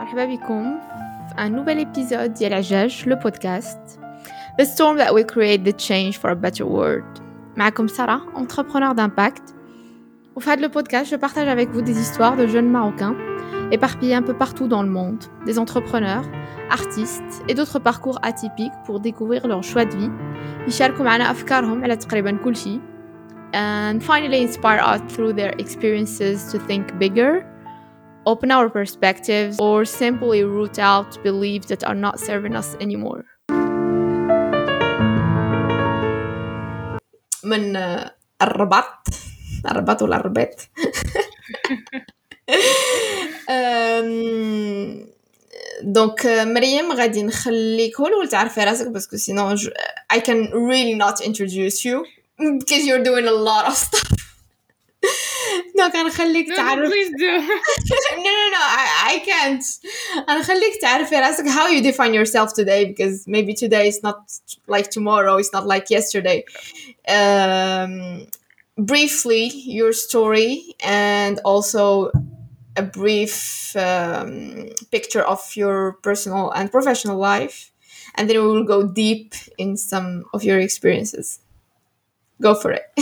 مرحبا بكم في un nouvel épisode ديال عجاج le podcast The storm that will create the change for a better world. معكم سارة, entrepreneur d'impact. وفي هذا le podcast, je partage avec vous des histoires de jeunes Marocains éparpillés un peu partout dans le monde, des entrepreneurs, artistes et d'autres parcours atypiques pour découvrir leur choix de vie. يشاركوا معنا أفكارهم على تقريبا كل شيء and finally inspire us through their experiences to think bigger, open our perspectives, or simply root out beliefs that are not serving us anymore. من الرباط ولا الرباط دونك مريم غادي نخليك هو الاول تعرفي راسك باسكو سينو I can really not introduce you because you're doing a lot of stuff. دونك غنخليك تعرف please do. no I can't. غنخليك تعرفي راسك how you define yourself today because maybe today is not like tomorrow, it's not like yesterday. Briefly your story and also a brief picture of your personal and professional life, and then we will go deep in some of your experiences. Go for it.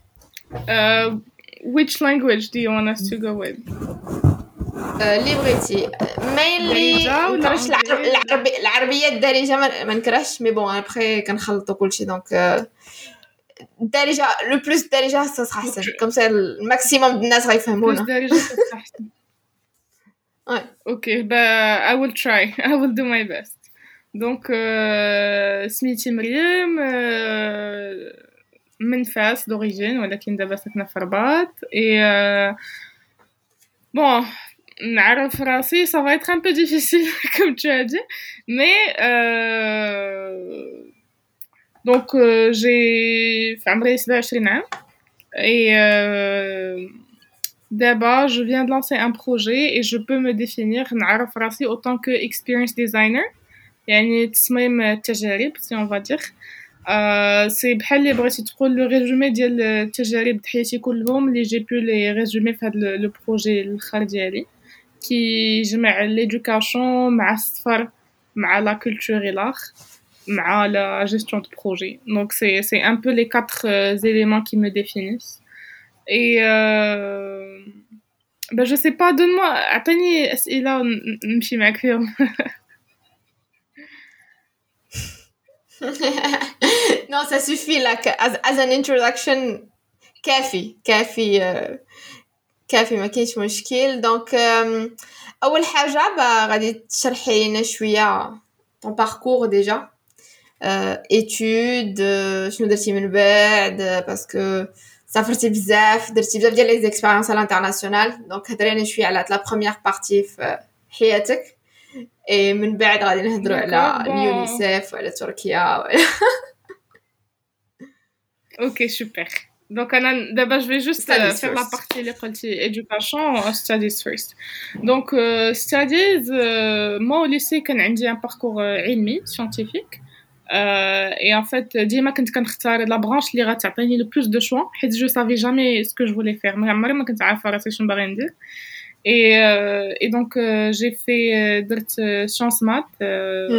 Which language do you want us to go with? اللي بغيتي mainly نكرهش العربية الدارجة ما نكرهش مي بون ابخي كنخلطوا كلشي دونك الدارجة لو بلوس الدارجة صح احسن كم سا الماكسيموم الناس غيفهمونا بلوس دارجة احسن. اوكي I will try. I will do my best. دونك سميتي مريم من فاس d'origine ولكن دابا ساكنة في الرباط et bon نعرف راسي ça va être un peu difficile comme tu as dit mais donc j'ai في عمري 27 عام et d'abord je viens de lancer un projet et je peux me définir نعرف راسي autant que experience designer يعني تصميم التجارب si on va dire سي بحال اللي بغيتي تقول لو ريزومي ديال التجارب د حياتي كلهم اللي جي بو لي ريزومي في هذا لو بروجي الاخر ديالي كي جمع ليدوكاسيون مع السفر مع لا كولتور et l'art مع la gestion de projet. Donc c'est un peu les quatre éléments qui me définissent. Et ben je sais pas, donne-moi عطيني أسئلة نمشي معاك فيهم. Non, ça suffit là as an introduction كافي ما كاينش مشكل. دونك اول حاجه غادي تشرحي لنا شويه ton parcours déjà études شنو درتي من بعد باسكو سافرتي بزاف درتي بزاف ديال لي اكسبيريونس على الانترناسيونال دونك هضري لنا شويه على لا بروميير بارتي في حياتك et من بعد غادي نهضروا على اليونيسيف وعلى تركيا اوكي سوبر. Donc d'abord je vais juste faire la partie اللي قلتي education studies first. Donc studies moi au lycée كان عندي un parcours علمي scientifique et en fait ديما كنت كنختار la branche اللي غتعطيني le plus de choix حيت je savais jamais ce que je voulais faire عمري ما كنت عارفه راسي شنو باغي ندير et donc j'ai fait درت sciences maths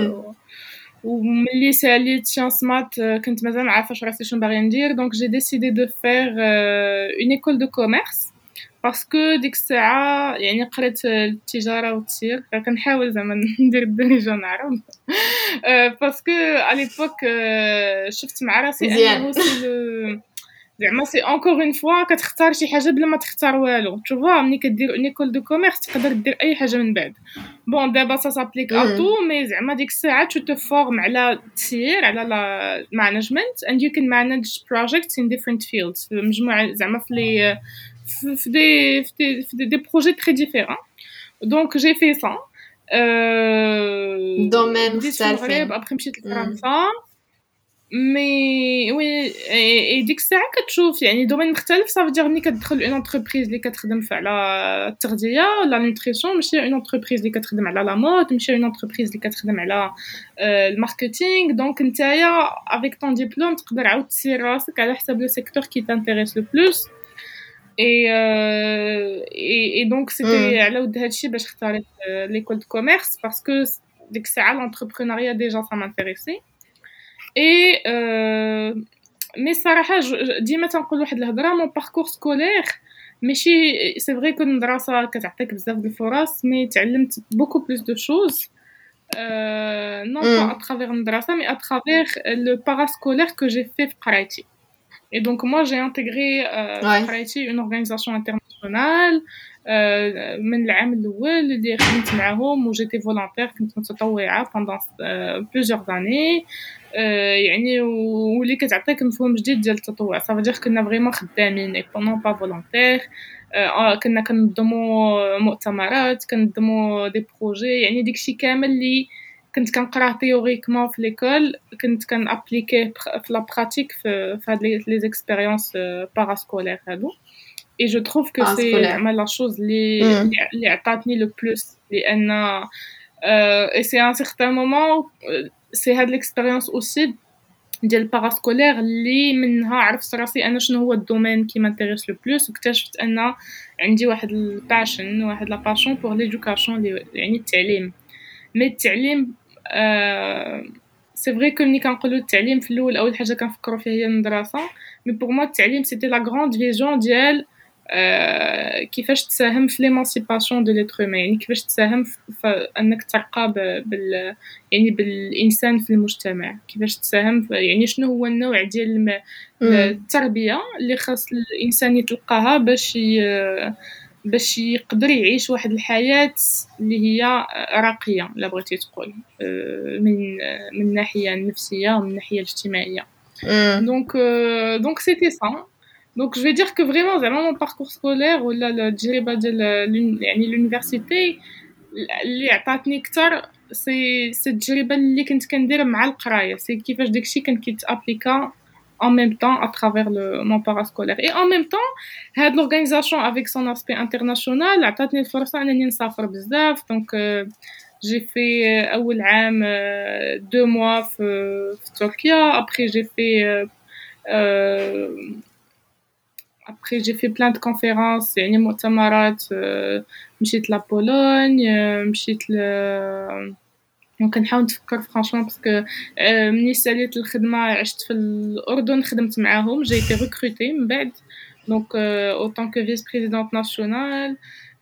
وملي ساليت sciences maths كنت مازال ما عارفه راسي شنو باغي ندير donc j'ai décidé de faire une école de commerce parce que ديك الساعه يعني قريت التجاره والتسيير كنحاول زعما ندير الدرجه نعرف parce que à l'époque شفت مع راسي انه سي زعما سي encore une fois كتختار شي حاجه بلا ما تختار والو tu vois ملي كدير une école de commerce تقدر دير اي حاجه من بعد bon دابا ça s'applique à tout mais زعما ديك الساعه tu te formes على التسيير على la management and you can manage projects in different fields مجموعه زعما في des projets très différents donc j'ai fait ça domaine مختلفين après مشيت لفرنسا مي وي اي ديك الساعه كتشوف يعني دومين مختلف صافي دير ملي كتدخل اون انتربريز اللي كتخدم على التغذيه لا نوتريسيون ماشي اون انتربريز اللي كتخدم على لا مود ماشي اون انتربريز اللي كتخدم على الماركتينغ دونك نتايا افيك طون ديبلوم تقدر عاود تسير راسك على حسب لو سيكتور كي تانتيريس لو بلوس et donc c'était على ود هادشي باش اختاريت l'école de commerce parce que ديك الساعة l'entrepreneuriat déjà ça m'intéressait et mais صراحة ديما تنقول واحد الهضرة mon parcours scolaire ماشي c'est vrai que المدرسة كتعطيك بزاف د الفرص mais تعلمت beaucoup plus de choses non pas à travers المدرسة mais à travers le parascolaire que j'ai fait في قرايتي. Et donc, moi, j'ai intégré une organisation internationale من العام الأول اللي خدمت معاهم وجيتي فولونتير كنت متطوعة pendant plusieurs années يعني واللي كتعطيك مفهوم جديد ديال التطوع ça veut dire كنا vraiment خدامين et non pas volontaire كنا كننظموا مؤتمرات كننظموا دي بروجي يعني داكشي كامل اللي كنت كنقراه تيوريكمون في ليكول كنت كنابليكيه في لا براتيك في هاد لي زيكسبيريونس باراسكولير هادو et je trouve que c'est زعما لا شوز اللي عطاتني لو بلوس لان et c'est à un certain moment c'est هاد l'expérience aussi ديال الباراسكولير اللي منها عرفت راسي انا شنو هو الدومين كي مانتيريس لو بلوس واكتشفت ان عندي واحد الباشن واحد لا باشون بور ليدوكاسيون يعني التعليم مي التعليم سي فري كو ملي كنقولوا التعليم في الاول اول حاجه كنفكروا فيها هي المدرسه مي بور موا التعليم سيتي لا غراند فيجن ديال كيفاش تساهم في ليمانسيباسيون دو ليتر هومان يعني كيفاش تساهم في انك ترقى يعني بالانسان في المجتمع كيفاش تساهم يعني شنو هو النوع ديال التربيه اللي خاص الانسان يتلقاها باش يقدر يعيش واحد الحياه اللي هي راقيه لا بغيتي تقول من الناحيه النفسيه ومن الناحيه الاجتماعيه donc c'était ça. Donc je vais dire que vraiment mon parcours scolaire ou التجربه ديال يعني l'université اللي عطاتني اكثر سي التجربه اللي كنت كندير مع القرايه سي كيفاش داكشي كان كيتابليكا en même temps à travers mon parascolaire et en même temps هاد l'organisation avec son aspect international عطاتني الفرصه انني نسافر بزاف donc j'ai fait اول عام 2 mois في تركيا après j'ai fait plein de conférences يعني مؤتمرات مشيت لا بولونيا مشيت ممكن نحاول نتفكر فرانشمون باسكو مني ساليت الخدمه عشت في الاردن خدمت معاهم جيت ريكروتي من بعد دونك او طون كو فيس بريزيدونت ناسيونال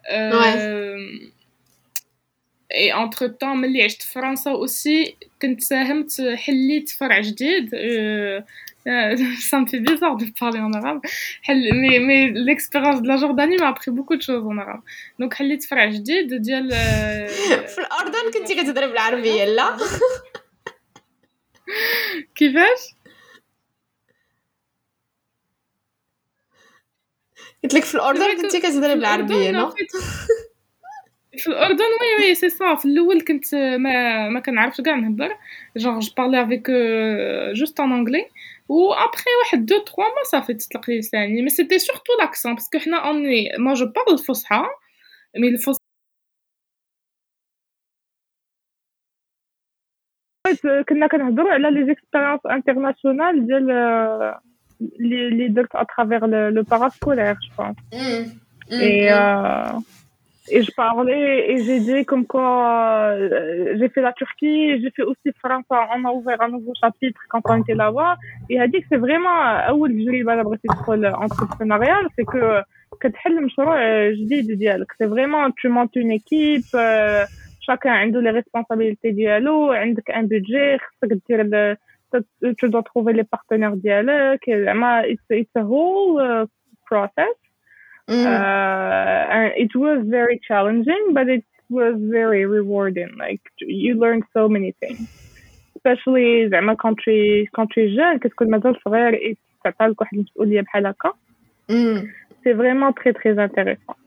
اي انتر طون ملي عشت في فرنسا اوسي كنت ساهمت حليت فرع جديد ça me fait bizarre de parler en arabe mais l'expérience de la Jordanie m'a appris beaucoup de choses en arabe donc حليت فرع جديد ديال في الأردن كنتي كتهضري بالعربية لا كيفاش قلت لك في الأردن كنتي كتهضري بالعربية لا في الأردن وي سي صا في الأول كنت ما كنعرفش كاع نهضر genre je parlais avec juste en anglais ou après واحد 2 3 mois ça fait تطلق لي لساني mais c'était surtout l'accent parce que حنا moi je parle الفصحى mais الفصحى كنا كنهضروا على لي زيكسبيريونس انترناسيونال ديال اللي درت à travers le parascolaire je pense et je parlais et j'ai dit comme quoi j'ai fait la Turquie j'ai fait aussi France on a ouvert un nouveau chapitre quand on était là-bas et a dit que c'est vraiment اول تجربه انا بغيت ندخل entrepreneurial c'est que كتحل مشروع جديد ديالك c'est vraiment tu montes une équipe chacun عنده les responsabilités ديالو عندك un budget خصك دير tu dois trouver les partenaires ديالك زعما it's a whole process and it was very challenging but it was very rewarding like you learn so many things especially زعما quand tu es jeune كتكون مازال صغير تعطى لك واحد المسؤوليه بحال هكا c'est vraiment très très intéressant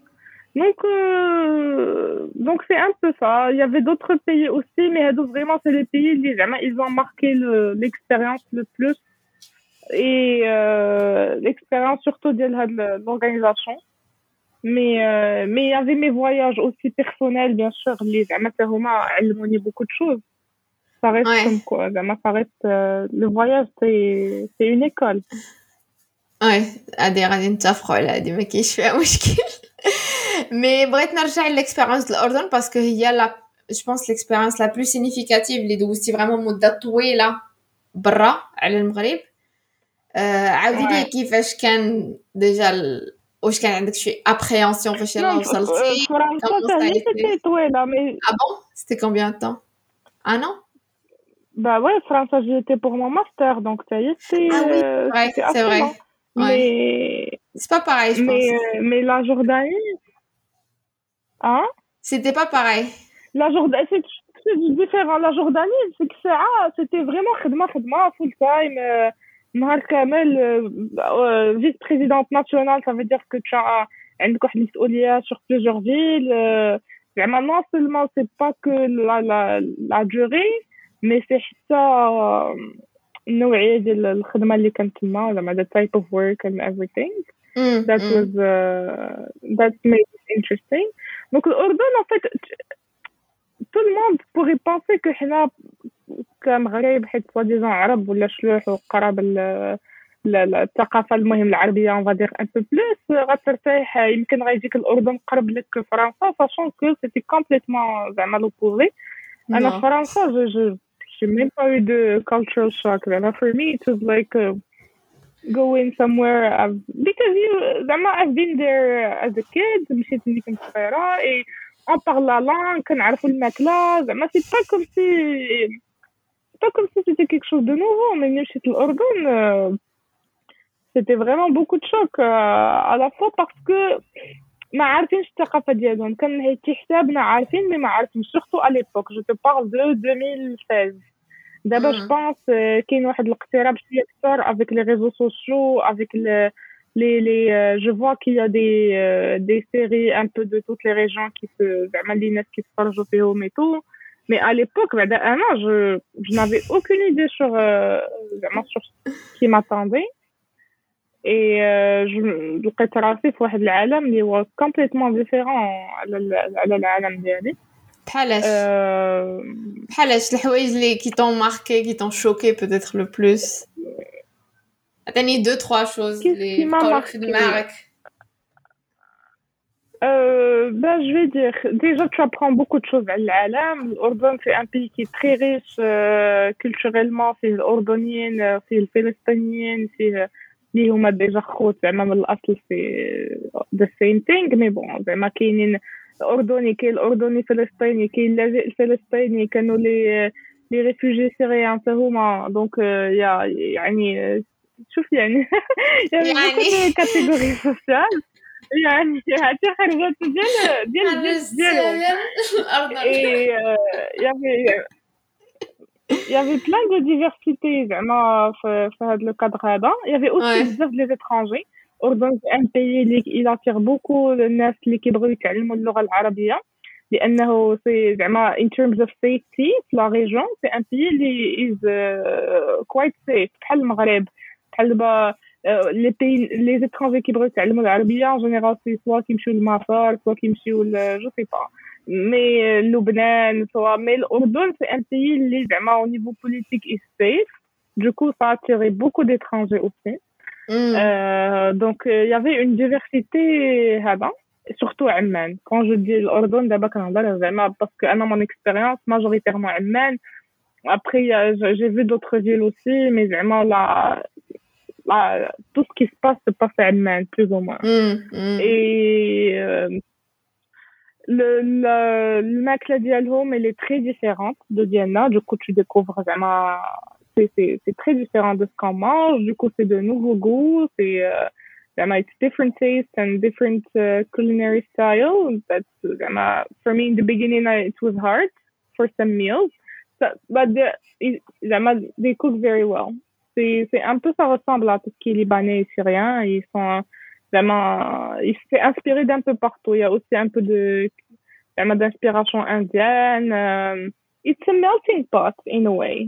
donc c'est un peu ça il y avait d'autres pays aussi mais vraiment c'est les pays اللي زعما ils ont marqué l'expérience le plus et l'expérience surtout ديال هاد l'organisation mais il y avait mes voyages aussi personnels bien sûr اللي زعما هما علموني beaucoup de choses ça reste comme quoi زعما ça reste le voyage c'est une école Ouais, غادي نتفقوا على هادي ما كاينش فيها مشكل. مي بغيت نرجع للإكسبيريونس الأردن باسكو هي لا جو بونس l'expérience la plus significative اللي دوزتي فريمون مدة طويلة برا على المغرب. عاودي لي Ouais. كيفاش كان ديجا واش كان عندك شي ابريهنسيون فاش يلاه Non, وصلتي؟ France, Comment ça a été? c'était طويلة, mais Ah bon? C'était combien de temps? Un an? bah ouais, France, j'y étais pour mon master, donc ça y est, Ah oui, c'était c'est assez vrai. long. Ouais. Mais, C'est pas pareil, je pense. mais la Jordanie, hein? C'était pas pareil. La Jordanie, c'est différent. La Jordanie, c'est que c'était vraiment khidma full time. نهار كامل vice-présidente nationale, ça veut dire que tu as عندك واحد المسؤولية sur plusieurs villes. زعما non seulement c'est pas que la durée, mais c'est حتى النوعية ديال الخدمة اللي كانت تما, زعما the type of work and everything. That made it interesting. Donc الأردن, en fait, tout le monde pourrait penser que حنا كمغرب حيت soi-disant عرب ولا شلوح وقراب الثقافة المهم العربية on va dire un peu plus غترتاح, يمكن غيجيك الأردن قرب لك فرنسا, sachant que c'était complètement زعما l'opposé. أنا فرنسا j'ai même pas eu de cultural shock. For me it was like going somewhere because I've been there as a kid. مشيت ملي كنت صغيرة et on parle la langue, كنعرفوا الماكلة. زعما c'est pas comme si c'était quelque chose de nouveau. Mais ملي مشيت الأردن c'était vraiment beaucoup de choc à la fois parce que ما عارفينش الثقافة ديالهم. كان هيك حسابنا عارفين مي ما عارفين surtout à l'époque. Je te parle de 2016. دابا je pense كاين واحد الاقتراب شويه اكثر avec les réseaux sociaux, avec les je vois qu'il y a des séries un peu de toutes les régions qui se زعما les ناس كيتفرجوا فيهم et tout. Mais à l'époque بعدا انا je n'avais aucune idée sur زعما sur ce qui m'attendait. Et je لقيت راسي في واحد العالم اللي هو complètement différent على العالم ديالي. بحالاش الحوايج اللي qui t'ont marqué, qui t'ont choqué peut-être le plus. عطيني 2-3 choses اللي بقاو لك في دماغك. Je vais dire, déjà tu apprends beaucoup de choses على العالم. الأردن c'est un pays qui est très riche culturellement. فيه الأردنيين, فيه الفلسطينيين, فيه اللي هما ديجا خوت زعما من الأصل في the same thing. مي بون زعما كاينين الأردني, كاين الأردني فلسطيني, كاين اللاجئ الفلسطيني, كانوا لي ريفوجي سوريان حتى هما. دونك يعني شوف يعني يعني كاتيجوري سوسيال يعني حتى خرجت ديالهم. Il y avait plein de diversité زعما في هذا le cadre هذا. Il y avait aussi بزاف les étrangers. الأردن c'est un pays اللي il attire beaucoup الناس اللي كيبغيو يتعلموا اللغة العربية لأنه c'est زعما in terms of safety في la région c'est un pays اللي is quite safe بحال المغرب بحال دابا les pays les étrangers كيبغيو يتعلموا العربية en général c'est soit كيمشيو للمطار soit كيمشيو je sais pas. Mais Lebanon, mais l'Ordon, c'est un pays qui, vraiment, au niveau politique, est safe. Du coup, ça a attiré beaucoup d'étrangers aussi. Donc, il y avait une diversité, surtout à Amman. Quand je dis l'Ordon, d'abord, vraiment, parce que, dans mon expérience, majoritairement Amman. Après, j'ai vu d'autres villes aussi, mais vraiment, tout ce qui se passe à Amman, plus ou moins. Et الماكلة ديالهم elle est très différente de Vienna. Du coup tu découvres vraiment c'est très différent de ce qu'on mange. Du coup c'est de nouveaux goûts, c'est it's different taste and different culinary style. That's for me in the beginning it was hard for some meals, but they cook very well. C'est un peu, ça ressemble à tout ce qui est libanais et syrien. Ils sont vraiment, il s'est inspiré d'un peu partout. Il y a aussi un peu d'inspiration indienne. It's a melting pot in a way.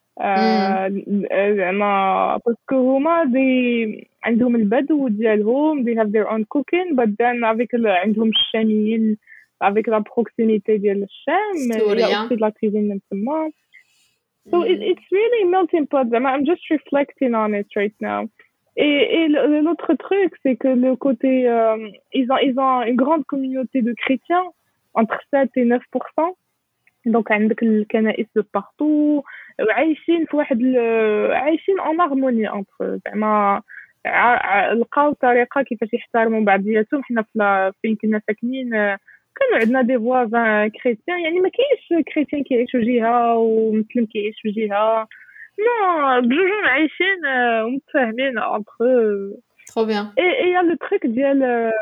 parce que هما عندهم البدو ديالهم, they have their own cooking, but then avec عندهم الشاميين, avec la proximité ديال الشام, il y a aussi de la cuisine من تما. So it's really melting pot. I'm just reflecting on it right now. L'autre truc, c'est que le côté, ils ont une grande communauté de chrétiens, entre 7 et 9%. Donc عندك الكنائس de partout وعايشين في واحد عايشين en harmonie entre زعما لقاو طريقة كيفاش يحترموا بعضياتهم. حنا فين كنا ساكنين كانوا عندنا دي فوازان كريستيان، يعني ما كاينش كريستيان كيعيشوا جهة ومسلم كيعيش في جهة، نو بجوجهم عايشين ومتفاهمين entre. Trop bien. Et y a le truc ديال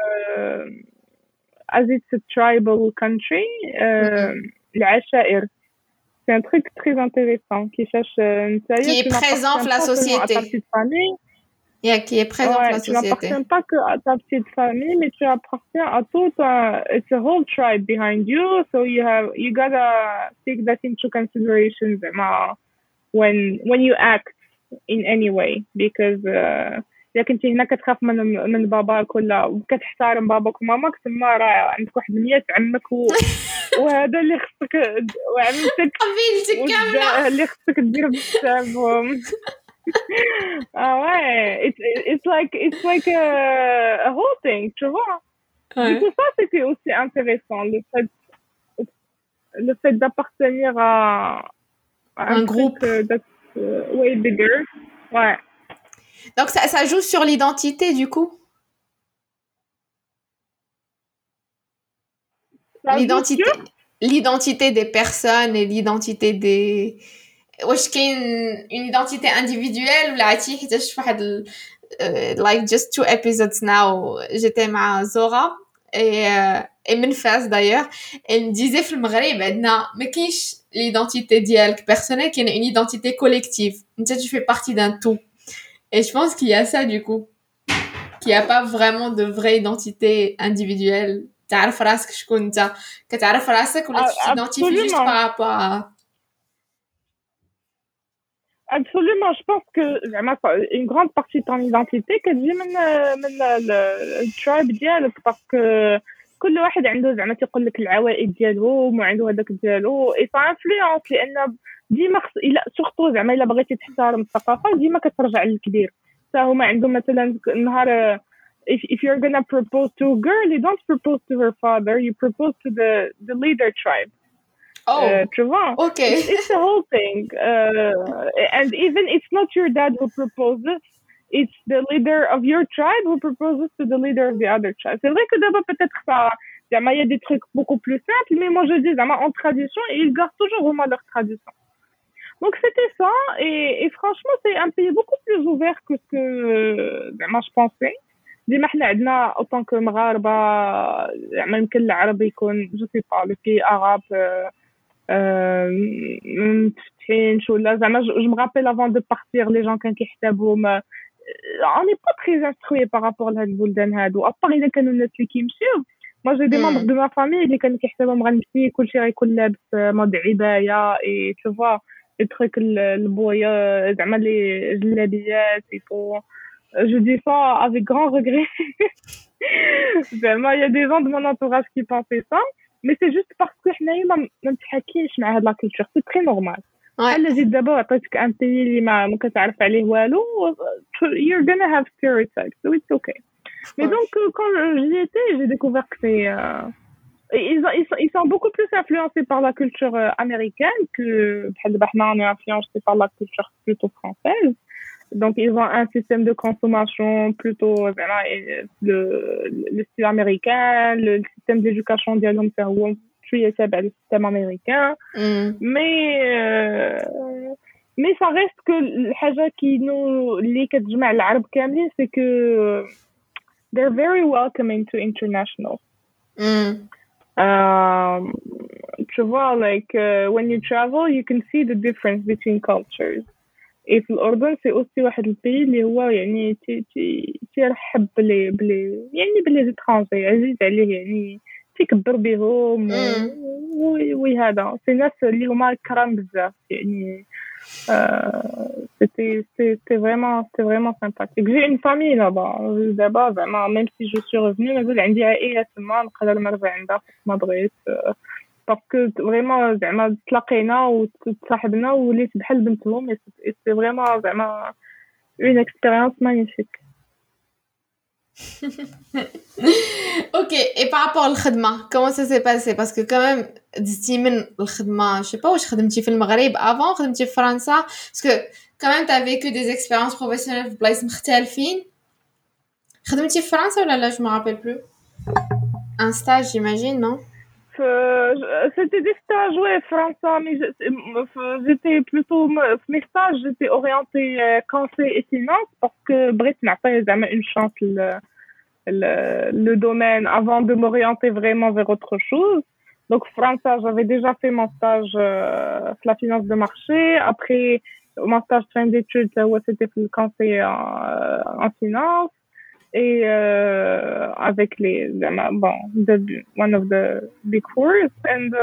as it's a tribal country, العشائر. C'est un truc très intéressant qui cherche qui est présent dans la société. À ta petite famille. Qui est présent dans la Tu société. n'appartiens pas que à ta petite famille, mais tu appartiens à tout it's a whole tribe behind you, so you gotta take that into consideration when you act in any way, because إذا كنتي هنا كتخاف من باباك ولا كتحترم باباك وماماك، تما راه عندك واحد 100 عمك وهذا اللي خصك وعمتك قبيلتك كاملة اللي خصك دير بحسابهم. Ouais, it's like a whole thing, tu vois. Du coup, ça c'était aussi intéressant, le fait d'appartenir à un groupe that's way bigger. Ouais. Donc ça joue sur l'identité du coup. L'identité des personnes et l'identité des واش كاين une identité individuelle ولا عرفتي حيتاش فواحد like just 2 episodes now j'étais مع زورا et من فاس d'ailleurs elle me disait في المغرب عندنا ما كاينش l'identité ديالك personnelle، كاين une identité collective، انت tu fais partie d'un tout. Et je pense qu'il y a ça du coup, qu'il y a pas vraiment de vraie identité individuelle. تعرف راسك شكون انت، كتعرف راسك ولا تidentifie juste par rapport à. Absolument, je pense que une grande partie de ton identité كتجي من الترايب ديالك، باسكو كل واحد عنده زعما تيقول لك العوائد ديالهم وعنده هذاك ديالو، اي سا انفلونس، لان ديما الا سورتو زعما الا بغيتي تحترم الثقافه ديما كترجع للكبير. حتى هما عندهم مثلا نهار if you're gonna propose to a girl, you don't propose to her father, you propose to the leader tribe. Tu vois? Okay. It's the whole thing. And even it's not your dad who proposes, it's the leader of your tribe who proposes to the leader of the other tribe. C'est vrai que d'abord peut-être ça, il y a des trucs beaucoup plus simples, mais moi je dis en tradition, et ils gardent toujours vraiment leur tradition. Donc c'était ça, et franchement c'est un pays beaucoup plus ouvert que ce que moi je pensais. ديما حنا عندنا autant que مغاربة يمكن العربي يكون جو سي با لو بي عرب متفتحين شو ولا زعما je me rappelle avant de partir les gens كان كيحسبوهم on n'est pas très instruit par rapport لهاد البلدان هادو ابار اذا كانوا الناس اللي كيمشيو. moi j'ai des membres de ma famille اللي كانوا كيحسبوهم غنمشي كلشي غيكون لابس مود عباية et tu vois les trucs البويا زعما لي جلابيات يفو. Je dis ça avec grand regret. Il y a des gens de mon entourage qui pensaient ça, mais c'est juste parce que ما نتحكيش مع هاد لا culture. C'est très normal. بحال جيت دابا عطيتك ان بيي اللي ما كتعرف عليه والو, you're gonna have stereotypes, so it's okay. Mais donc quand j'y étais, j'ai découvert que c'est ils sont beaucoup plus influencés par la culture américaine que بحال دابا حنا on est influencés par la culture plutôt française. Donc, ils ont un système de consommation plutôt le style américain, le système d'éducation ديالهم هو شوية تابع للسيستم américain. Mais ça reste que الحاجة اللي كتجمع العرب كاملين c'est que they're very welcoming to international. Tu vois, like when you travel, you can see the difference between cultures. في الأردن سي أوسي واحد البي اللي هو يعني تيرحب بلي زيترونجي عزيز عليه، يعني تيكبر بهم وهذا سي ناس اللي هما كرام بزاف يعني. c'était vraiment sympathique. J'ai une famille là-bas دابا زعما même si je suis revenue مازال عندي عائلة تما نقدر نرجع عندها ما بغيت باسكو فريمون زعما تلاقينا وتصاحبنا وليت بحال بنتهم. سي فريمون زعما اون اكسبيريونس ماغنيفيك. Ok, et par rapport au khadma, comment ça s'est passé? Parce que quand même, دزتي من الخدمة, je sais pas واش خدمتي في المغرب avant, خدمتي في فرنسا, parce que quand même t'as vécu des expériences professionnelles في بلايص مختلفين. خدمتي في فرنسا ولا لا, je me rappelle plus. Un stage, j'imagine, non? C'était des stages, ouais, français, mais j'étais plutôt, mes stages, j'étais orientée conseil et finance parce que Brett n'a pas jamais une chance le domaine avant de m'orienter vraiment vers autre chose. Donc, français, j'avais déjà fait mon stage sur la finance de marché. Après, mon stage de fin d'études, c'était le conseil en finance. Et avec one of the big fours.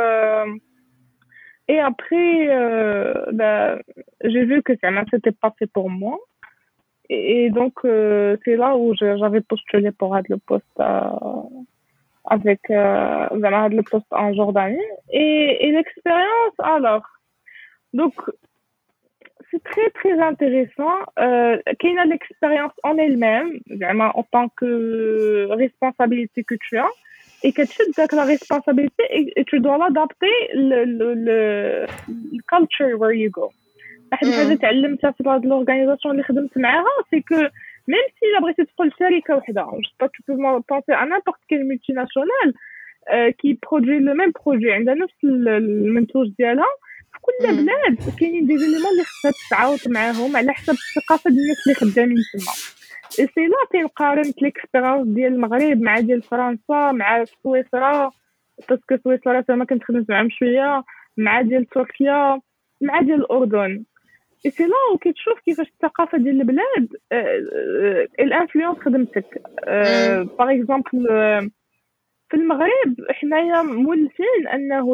Et après, j'ai vu que ça n'était pas fait pour moi. Et donc, c'est là où j'avais postulé pour être le poste avec le poste en Jordanie. Et l'expérience, alors, donc, c'est très très intéressant. Qu'il y a l'expérience en elle-même, vraiment en tant que responsabilité que tu as, et que tu as la responsabilité et tu dois l'adapter le culture where you go. واحد الحاجه تعلمتها في هاد لورغانيزاسيون اللي خدمت معاها سي كو ميم سي لا بغيتي تدخل شركه وحده tu peux penser à n'importe quelle multinationale qui produit le même produit عندها نفس المنتوج ديالها في كل بلاد كاينين دي زيليمون اللي خصها تتعاوض معاهم على حسب الثقافه ديال الناس اللي خدامين تما. اي سي لا تنقارن ليكسبيريونس ديال المغرب مع ديال فرنسا مع سويسرا باسكو سويسرا ما كنت خدمت معاهم شويه مع ديال تركيا مع ديال الاردن. اي سي لا وكتشوف كيفاش الثقافه ديال البلاد الانفلونس خدمتك. باغ اكزومبل في المغرب حنايا مولفين انه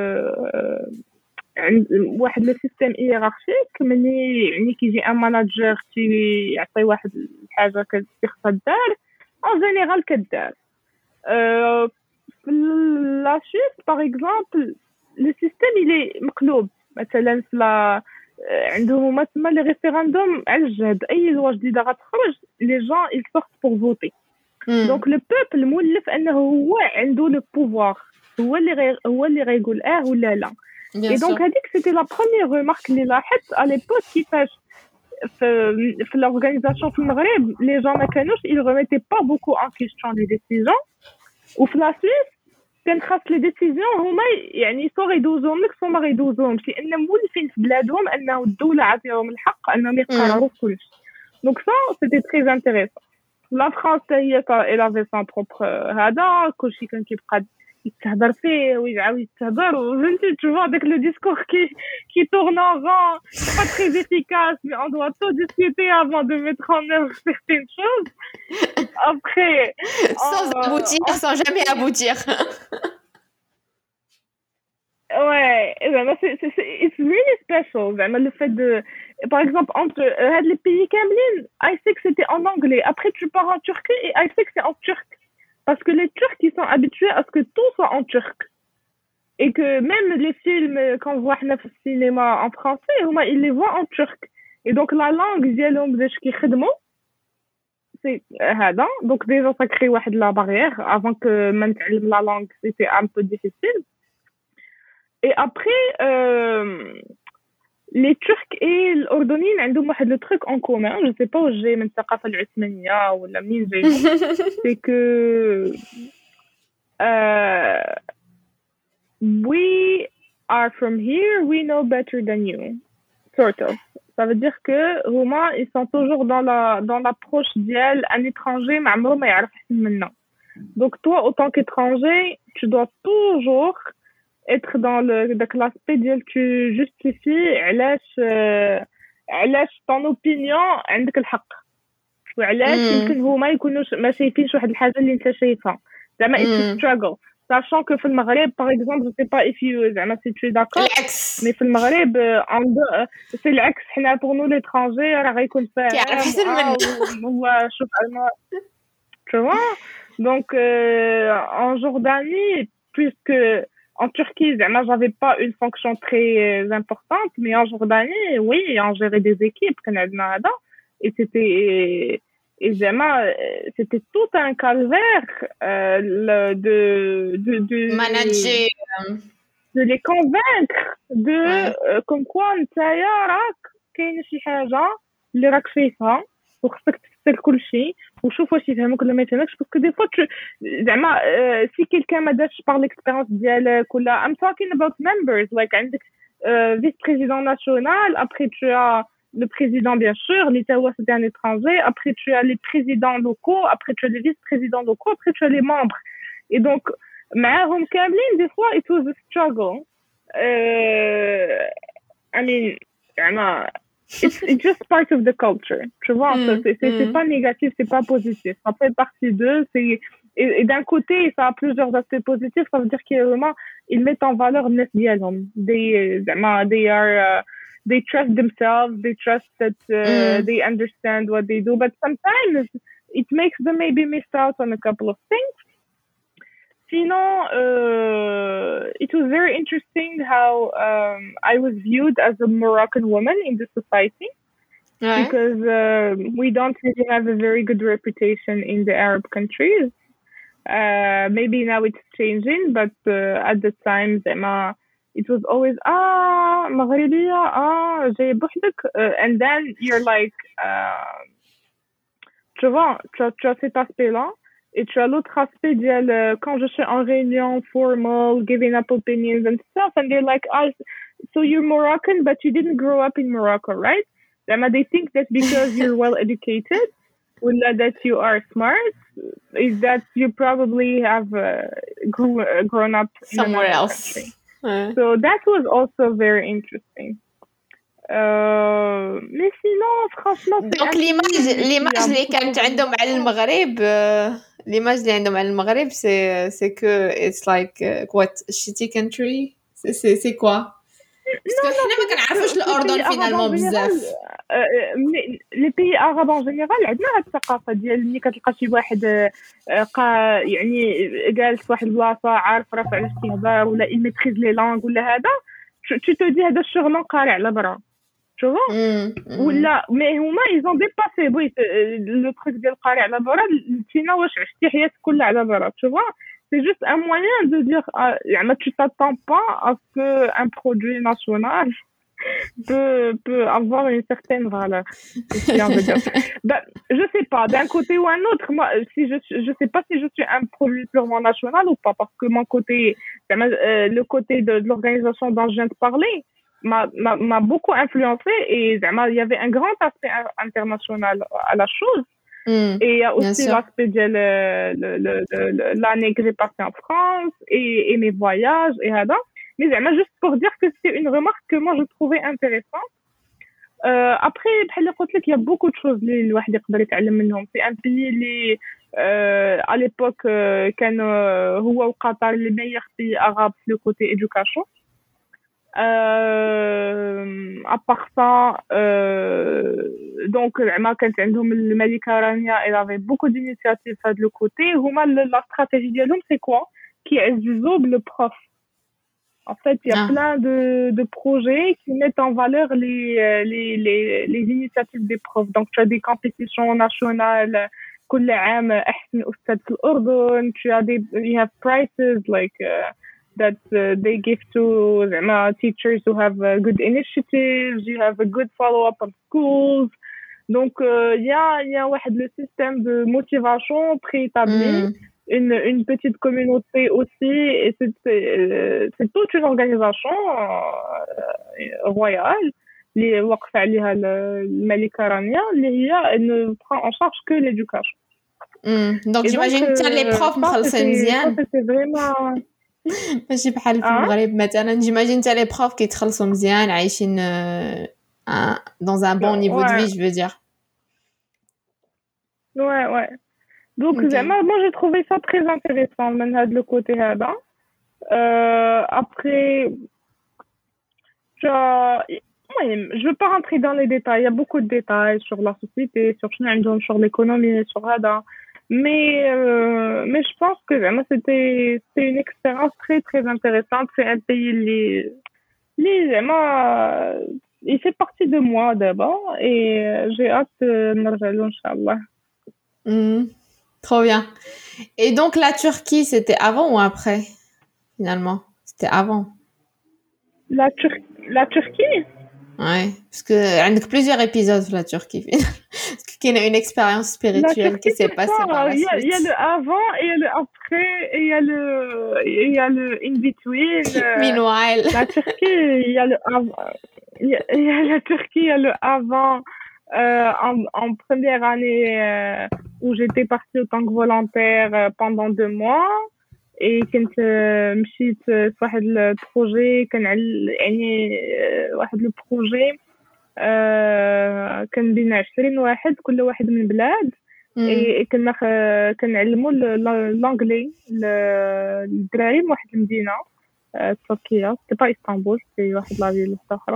عند واحد لو سيستيم هيرارشيك ملي يعني كيجي ان ماناجر يعطي واحد الحاجه خصها دار ان جينيرال كدار. في لا سويس باغ اكزومبل لو سيستيم الي مقلوب. مثلا في عندهم هما تما لي ريفيراندوم على الجهد اي لوا جديده غتخرج لي جون ils sortent pour voter. دونك لو بوبل مولف انه هو عنده لو بوفوار هو اللي غيقول ولا لا. اي دونك هذيك سيتي لا بروميير ريمارك اللي لاحظت على ليبوك كيفاش في لورغانيزاسيون في المغرب لي جون ما كانوش ils remettaient pas beaucoup en question les décisions وفي لا سويس كان خاص لي ديسيزيون هما يعني سو غيدوزوهم لك سو ما غيدوزوهمش لان مولفين في بلادهم انه الدوله عطيهم الحق انهم يقرروا كلشي. دونك سا سيتي تري انتريسون. لا فرانس هي الافي سان بروبر هذا كلشي كان كيبقى يتهضر فيه ويعاود يتهضر وفهمتي تشوف داك لو ديسكور كي تورن en rond pas très efficace mais on doit tout discuter avant de mettre en œuvre certaines choses après sans aboutir sans jamais aboutir. Ouais, it's really special. Le fait de, par exemple, entre les pays Kamlin, I sais que c'était en anglais. Après, tu pars en Turquie et I sais que c'est en turc. Parce que les Turcs, ils sont habitués à ce que tout soit en turc. Et que même les films, quand on voit le cinéma en français, ils les voient en turc. Et donc, la langue, c'est هذا. Donc, déjà, ça crée la barrière. Avant que la langue, c'était un peu difficile. Et après, les Turcs et l'Ordonien عندهم واحد le truc en commun. Je sais pas où j'ai من الثقافة العثمانية ولا منين جاي. C'est que we are from here, we know better than you. Sort of. Ça veut dire que هما ils sont toujours dans l'approche ديال un étranger ما عمره ما يعرف أحسن منا. Donc toi, autant qu'étranger, tu dois toujours être dans l'aspect ديال tu justifies علاش ton opinion عندك الحق وعلاش يمكن هما يكونوش ما شايفينش واحد الحاجه اللي انت شايفها زعما it's struggle sachant que في المغرب par exemple je sais pas if you زعما si tu es d'accord mais في المغرب c'est العكس حنا pour nous l'étranger راه غيكون فاهم هو شوف انا tu vois donc en Jordanie puisque en Turquie, j'avais pas une fonction très importante, mais en Jordanie, oui, on gérait des équipes, et c'était, c'était tout un calvaire de manager de les convaincre de comme quoi نتايا راك كاين شي حاجه اللي راك فيها وخصك تفسر كل شيء وشوف واش يفهمك ولا ما يفهمكش باسكو دي فوا زعما si quelqu'un ما دارش par l'expérience ديالك ولا I'm talking about members like عندك vice-président national, après tu as le président bien sûr, l'Italie c'est un étranger, après tu as les présidents locaux, après tu as les vice-présidents locaux, après tu as les membres. Et donc معاهم كاملين des fois it was a struggle. I mean it's just part of the culture, tu vois. C'est pas négatif, c'est pas positif, ça fait partie d'eux. Et d'un côté ça a plusieurs aspects positifs, ça veut dire qu'ils vraiment ils mettent en valeur الناس ديالهم. They trust themselves, they trust that they understand what they do, but sometimes it makes them maybe miss out on a couple of things. Sinon, it was very interesting how I was viewed as a Moroccan woman in the society. Ouais. Because we don't really have a very good reputation in the Arab countries. Maybe now it's changing, but at the time, it was always مغربية جاي بوحدك, and then you're like, tu vois, tu as cet aspect-là. Et tu as l'autre aspect quand je suis en réunion formal, giving up opinions and stuff, and they're like, so you're Moroccan, but you didn't grow up in Morocco, right? They think that because you're well educated, or that you are smart, is that you probably have grown up somewhere in else. So that was also very interesting. Mais sinon, franchement, donc l'image اللي كانت عندهم على المغرب l'image اللي عندهم على المغرب c'est que it's like what shitty country c'est quoi parce que حنا ما كنعرفوش الأردن finalement بزاف. les pays arabes en général عندنا هاد الثقافة ديال ملي كتلقى شي واحد يعني جالس واحد البلاصة عارف راسو على الاستهبال ولا il maîtrise les langues ولا هذا tu te dis هذا الشغل قاري على برا. Tu vois? ولا mais هما ils ont dépassé le truc ديال قاري على برا نتينا واش عشتي حياتك كلها على برا. Tu vois? C'est juste un moyen de dire يعني tu t'attends pas à ce que un produit national peut avoir une certaine valeur. Ben, je sais pas, d'un côté ou un autre, moi si je sais pas si je suis un produit purement national ou pas, parce que mon côté le côté de l'organisation dont je viens de parler m'a beaucoup influencé, et il y avait un grand aspect international à la chose. Et il y a aussi l'aspect de l'année que j'ai passée en France et mes voyages et là. Mais juste pour dire que c'est une remarque que moi je trouvais intéressante. Après, il y a beaucoup de choses اللي الواحد يقدر يتعلم منهم. C'est un pays اللي à l'époque كان هو وقطر les meilleurs pays arabes le côté éducation. À part ça, donc كانت عندهم الملكة رانيا, elle avait beaucoup d'initiatives de le côté. هما la stratégie ديالهم c'est quoi? كيعززوا le prof. En fait, il y a plein de projets qui mettent en valeur les initiatives des profs. Donc, tu as des compétitions nationales. كل عام أحسن أستاذ في الأردن. You have prizes like that they give to teachers who have good initiatives. You have a good follow-up on schools. Donc, il y a le système de motivation préétabli. Une petite communauté aussi, et c'est toute une organisation royale اللي وقف عليها الملكة رانيا اللي هي ne prend en charge que l'éducation. Donc j'imagine que les profs مخلصين مزيان. C'était vraiment ماشي بحال في المغرب مثلا. J'imagine que les profs كيتخلصوا مزيان عايشين dans un bon niveau de vie, je veux dire. Ouais. Donc, moi, j'ai trouvé ça très intéressant, de le côté là. Après, je veux pas rentrer dans les détails. Il y a beaucoup de détails sur la société, sur l'économie, sur ça. Mais je pense que c'était une expérience très, très intéressante. C'est un pays il fait partie de moi d'abord, et j'ai hâte de me rejoindre, Inch'Allah. Trop bien. Et donc, la Turquie, c'était avant ou après, finalement? C'était avant. La Turquie? Ouais. Parce que, عندك plusieurs épisodes sur la Turquie, Parce qu'il y a une expérience La spirituelle qui Turquie, s'est passée par pourtant, la il y a suite. le avant, et il y a le après, et il y a le in between. Meanwhile. La Turquie, il y a le avant, il y a la Turquie, il y a le avant, en première année, où j'étais partie en tant que volontaire pendant 2 mois. Et كنت مشيت في واحد البروجي كان يعني واحد البروجي كان بين 20 واحد كل واحد من بلاد. Hmm. كنا كنعلموا لونجلي للدراري من واحد المدينه تركيا سي با اسطنبول سي واحد لا فيل اخرى.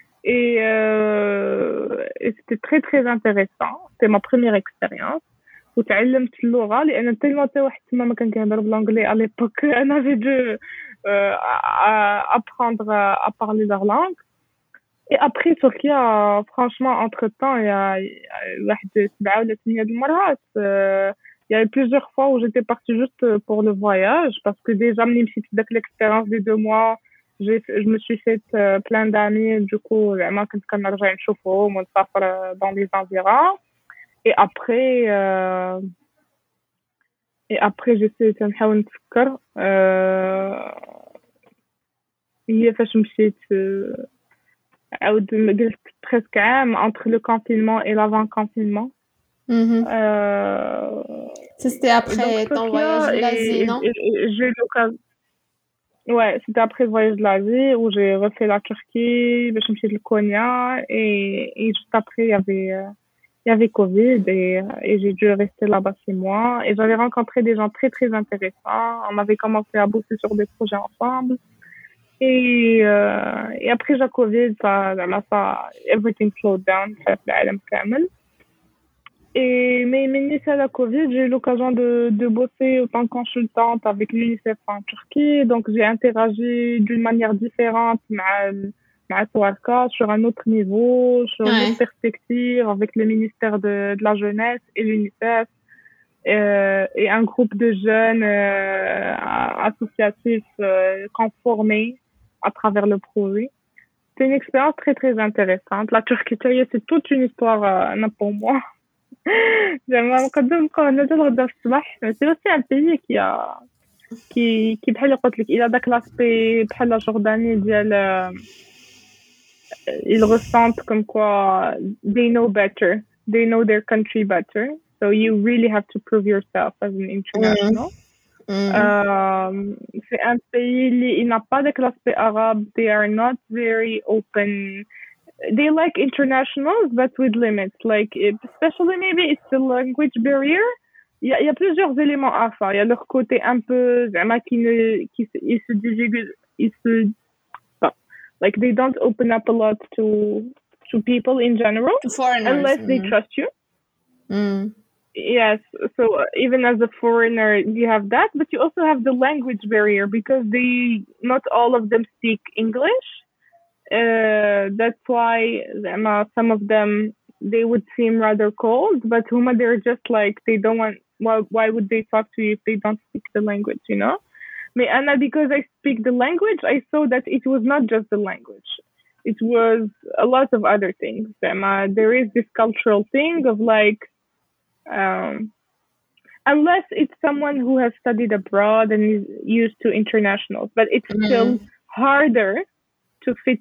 Et c'était très très intéressant. C'était ma première expérience. وتعلمت اللغة لأن تلمو تا واحد تما ما كان كيهضر بالانجلي à l'époque. أنا j'ai dû apprendre à parler leur langue. Et après Turquia, franchement, entre-temps, il y a واحد 7 ولا 8 د المرات. Il y a eu plusieurs fois où j'étais partie juste pour le voyage parce que déjà ملي مشيت داك l'expérience des 2 mois, je me suis fait plein d'amis. Du coup, زعما كنت كنرجع نشوفهم ونسافر dans les environs. Et après j'essaie تنحاول نتفكر هي فاش مشيت عاود جلست presque عام entre le confinement et l'avant-confinement. Mhm. Ça, c'était après Donc ton Sofia, voyage de l'Asie, non? j'ai eu l'occasion. Ouais, c'était après le voyage de l'Asie où j'ai refait la Turquie, باش نمشي لكونيا et juste après il y avait Covid et j'ai dû rester là-bas 6 mois et j'avais rencontré des gens très très intéressants. On avait commencé à bosser sur des projets ensemble. Et après la Covid, ça everything slowed down في العالم كامل. Et mais à la Covid, j'ai eu l'occasion de bosser en tant que consultante avec l'UNICEF en Turquie. Donc j'ai interagi d'une manière différente مع Swarka sur un autre niveau, sur une autre perspective avec le ministère de la Jeunesse et l'UNICEF. Et un groupe de jeunes associatifs conformés à travers le projet. C'est une expérience très très intéressante. La Turquie, c'est toute une histoire pour moi. زعما نقدر نبقاو هنا حتى الغدا في الصباح. سي اوسي ان بيي كي بحال قلت لك الى داك لاسبي بحال لا جورداني ديال ils ressentent comme quoi they know better, they know their country better, so you really have to prove yourself as an international. C'est un pays il n'a pas de l'aspect arabe. They are not very open. They like internationals, but with limits. Like, especially maybe it's the language barrier. Il y a plusieurs éléments à faire. Il y a leur côté un peu, ils se like they don't open up a lot to people in general, foreigners, unless they trust you. Yes, so even as a foreigner, you have that, but you also have the language barrier because not all of them speak English. That's why some of them they would seem rather cold, but Huma they're just like they don't want. Why would they talk to you if they don't speak the language? You know, Anna, because I speak the language, I saw that it was not just the language; it was a lot of other things. There is this cultural thing of like. Unless it's someone who has studied abroad and is used to internationals, but it's still harder to fit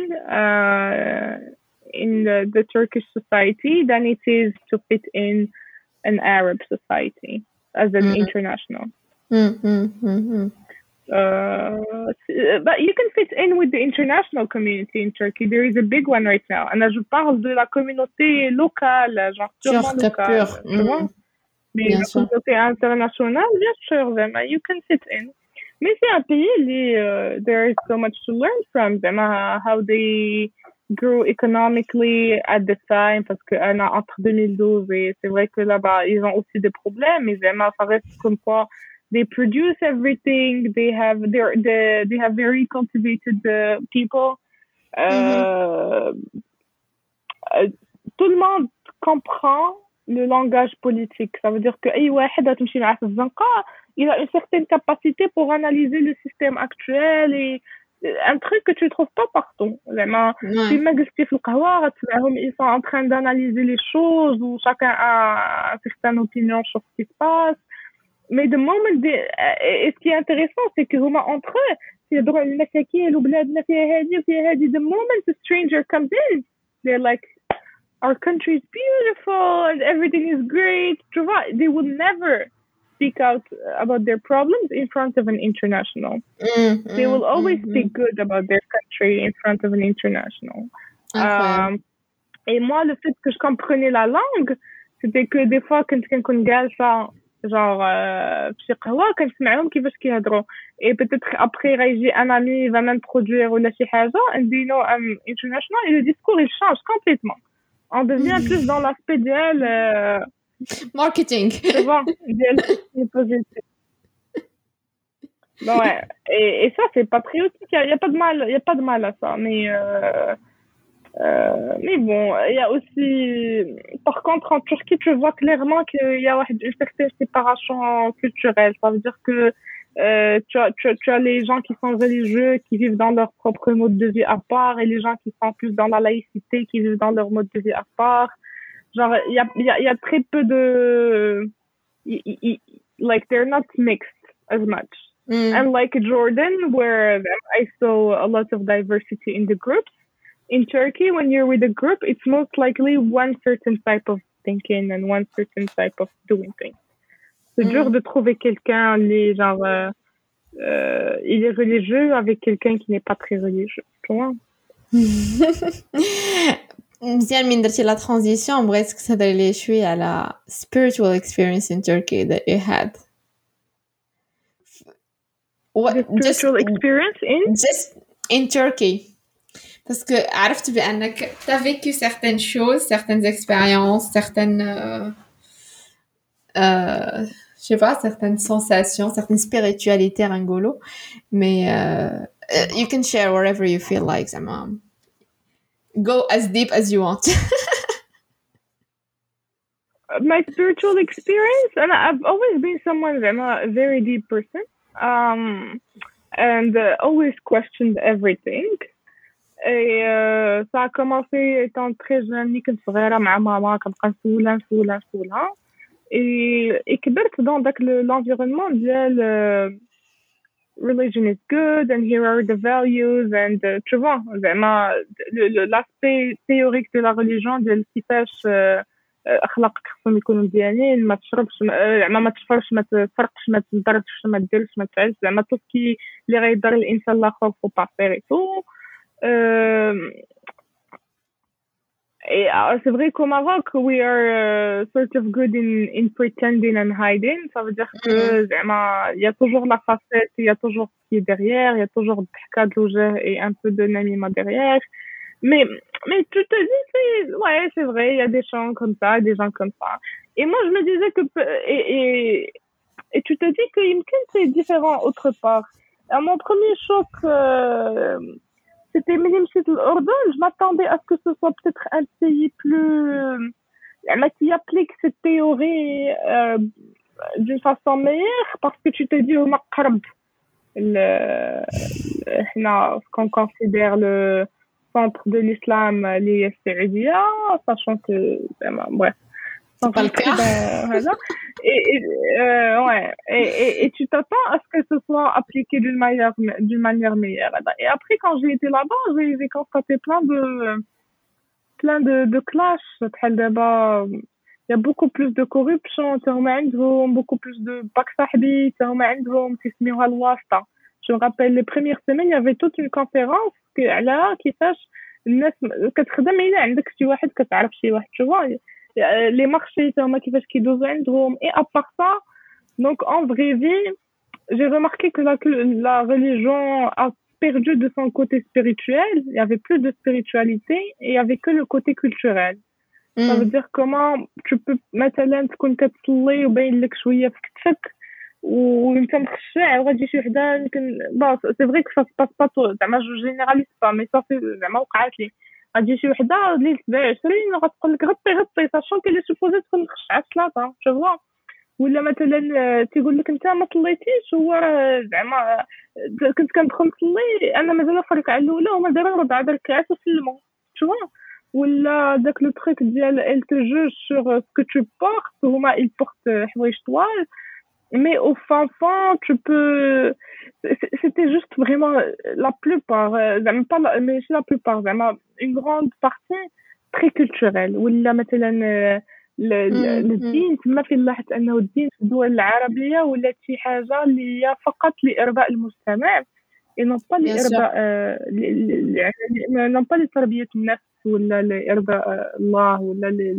in the Turkish society than it is to fit in an Arab society as an international. But you can fit in with the international community in Turkey. There is a big one right now. And je parle de la communauté locale, genre purement locale. Tu vois? Mais la communauté internationale, bien sûr, you can fit in. Mais c'est un pays there is so much to learn from them, how they grew economically at the time, parce que entre 2012 et c'est vrai que là-bas, ils ont aussi des problèmes, mais ça reste comme quoi they produce everything, they have very cultivated people. Tout le monde comprend le langage politique. Ça veut dire que أي واحد غتمشي معاه في الزنقة il a une certaine capacité pour analyser le système actuel et un truc que tu trouves pas partout. زعما Ouais. فيما جلستي في القهوة غتسمعهم ils sont en train d'analyser les choses ou chacun a une certaine opinion sur ce qui se passe. Mais the moment et ce qui est intéressant c'est que هما entre eux يهضروا على المشاكل وبلادنا فيها هذه وفيها هذه. The moment the stranger comes in they're like our country is beautiful and everything is great. Tu vois, they would never speak out about their problems in front of an international. They will always speak good about their country in front of an international. Et moi, le fait que je comprenais la langue, c'était que des fois, quand كنكون جالسة genre في شي قهوة كنسمعهم كيفاش كيهضروا. Et peut-être après غيجي un ami va m'introduire ولا شي حاجة and they know I'm international et le discours il change complètement. On devient plus dans l'aspect ديال marketing. tu vois, ديال positif. Bon, ouais. Et ça c'est patriotique, il y a pas de mal, il y a pas de mal à ça, mais bon, il y a aussi par contre en Turquie tu vois clairement qu'il y a une certaine séparation culturelle. Ça veut dire que tu as les gens qui sont religieux qui vivent dans leur propre mode de vie à part et les gens qui sont plus dans la laïcité qui vivent dans leur mode de vie à part. Genre il y a très peu de like they're not mixed as much. Unlike Jordan where I saw a lot of diversity in the groups. In Turkey, when you're with a group, it's most likely one certain type of thinking and one certain type of doing things. C'est dur de trouver quelqu'un, genre, il est religieux avec quelqu'un qui n'est pas très religieux, tu vois. مزيان من درتي لا ترانزيسيون بغيتك تهضري لي شويه على spiritual experience in Turkey that you had. Spiritual experience just in Turkey. Parce que عرفت بأنك t'as vécu certaines choses, certaines expériences, certaines je sais pas, certaines sensations, certaines spiritualités ringolo, mais you can share wherever you feel like زعما go as deep as you want. My spiritual experience, and I've always been someone a very deep person, and always questioned everything. Et ça a commencé étant très jeune كنت صغيرة مع ماما كنبقى نسولها et كبرت dans داك l'environnement ديال religion is good and here are the values and tu vois زعما l'aspect théorique de la religion ديال كيفاش اخلاقك خصهم يكونوا مزيانين ما تشربش زعما ما تشفرش ما تسرقش ما تضربش ما ديرش ما تعيش زعما توكي اللي غيضر الانسان الاخر فو با فير تو. Et c'est vrai qu'au Maroc, we are sort of good in pretending and hiding. Ça veut dire que il y a toujours la facette, il y a toujours ce qui est derrière, il y a toujours de l'hka de l'ouja et un peu de namima derrière. Mais tu te dis, ouais, c'est vrai, il y a des gens comme ça, des gens comme ça. Et moi, je me disais que... Et tu te dis que Yimken, c'est différent autre part. À mon premier choc... c'était Mélimchit l'Ordon, je m'attendais à ce que ce soit peut-être un pays plus... qui applique cette théorie d'une façon meilleure, parce que tu te dis au Maghreb, ce qu'on considère le centre de l'islam, les Saoudia, sachant que... bref. C'est pas le cas. Et tu t'attends à ce que ce soit appliqué d'une manière meilleure. Et après, quand j'ai été là-bas, j'ai constaté plein de clashs. Il y a beaucoup plus de corruption, beaucoup plus de baksahbi, je me rappelle les premières semaines, il y avait toute une conférence qui sache الناس كتخدم إلا عندك شي واحد كتعرف شي واحد tu vois. Les marchés تما كيفاش كيدوزو عندهم. Et à part ça, donc en vraie vie, j'ai remarqué que la religion a perdu de son côté spirituel. Il y avait plus de spiritualité et il y avait que le côté culturel. Ça veut dire comment tu peux مثلا تكون كتصلي وباين لك شويه في كتفك وانت مخشع وغادي شي وحده يمكن c'est vrai que ça se passe pas زعما je généralise pas mais ça c'est زعما وقعت لي غتجي شي وحده اللي 27 غتقول لك غطي ساشون كي لي سوبوزي تكون خشعه الصلاه شوفوا. ولا مثلا تيقول لك انت ما صليتيش، هو زعما كنت كندخل نصلي انا مازال فريق على الاولى وما دايره 4 ركعات وسلموا شوفوا. ولا داك لو تريك ديال elle te juge sur ce que tu portes، هما ils portent حوايج طوال mais au fond tu peux c'était juste vraiment la plupart زعما pas mais la plupart زعما une grande partie très culturelle. ولا مثلا الدين تما فين لاحظت انه الدين في الدول العربيه ولا شي حاجه اللي هي فقط لارضاء المجتمع non pas لارضاء non pas لتربيه النفس ولا لارضاء الله ولا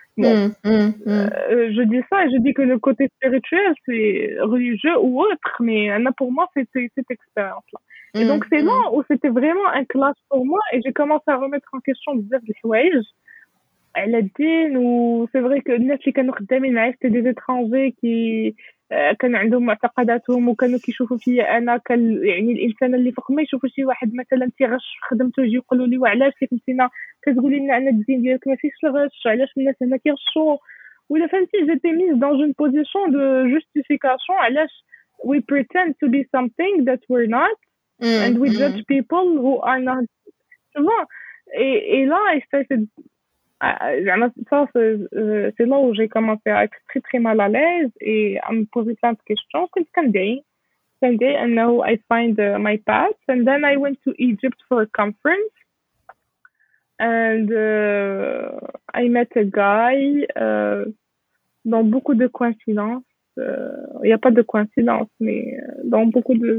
je dis ça et je dis que le côté spirituel c'est religieux ou autre, mais pour moi c'était cette expérience là. Et donc c'est là où c'était vraiment un clash pour moi et j'ai commencé à remettre en question بزاف د الحوايج على الدين. وسي فري كو الناس اللي كانوا خدامين معايا سيتي دي زيترونجي كي كان عندهم معتقداتهم وكانوا كيشوفوا فيا انا يعني الانسان اللي فوق ما يشوفوا شي واحد مثلا تيغش في خدمته يجي يقولوا لي وعلاش كنتينا كتقولي لنا ان الدين ديالك ما فيهش الغش، علاش الناس هنا كيغشوا ولا فهمتي. جيتي ميز دون اون بوزيشن دو جوستيفيكاسيون علاش we pretend to be something that we're not and we judge people who are not. Tu vois, et là c'est là où j'ai commencé à être très très mal à l'aise et à me poser plein de questions. And now I find my path. And then I went to Egypt for a conference. And I met a guy dans beaucoup de coïncidences. Il n'y a pas de coïncidence, mais dans beaucoup de...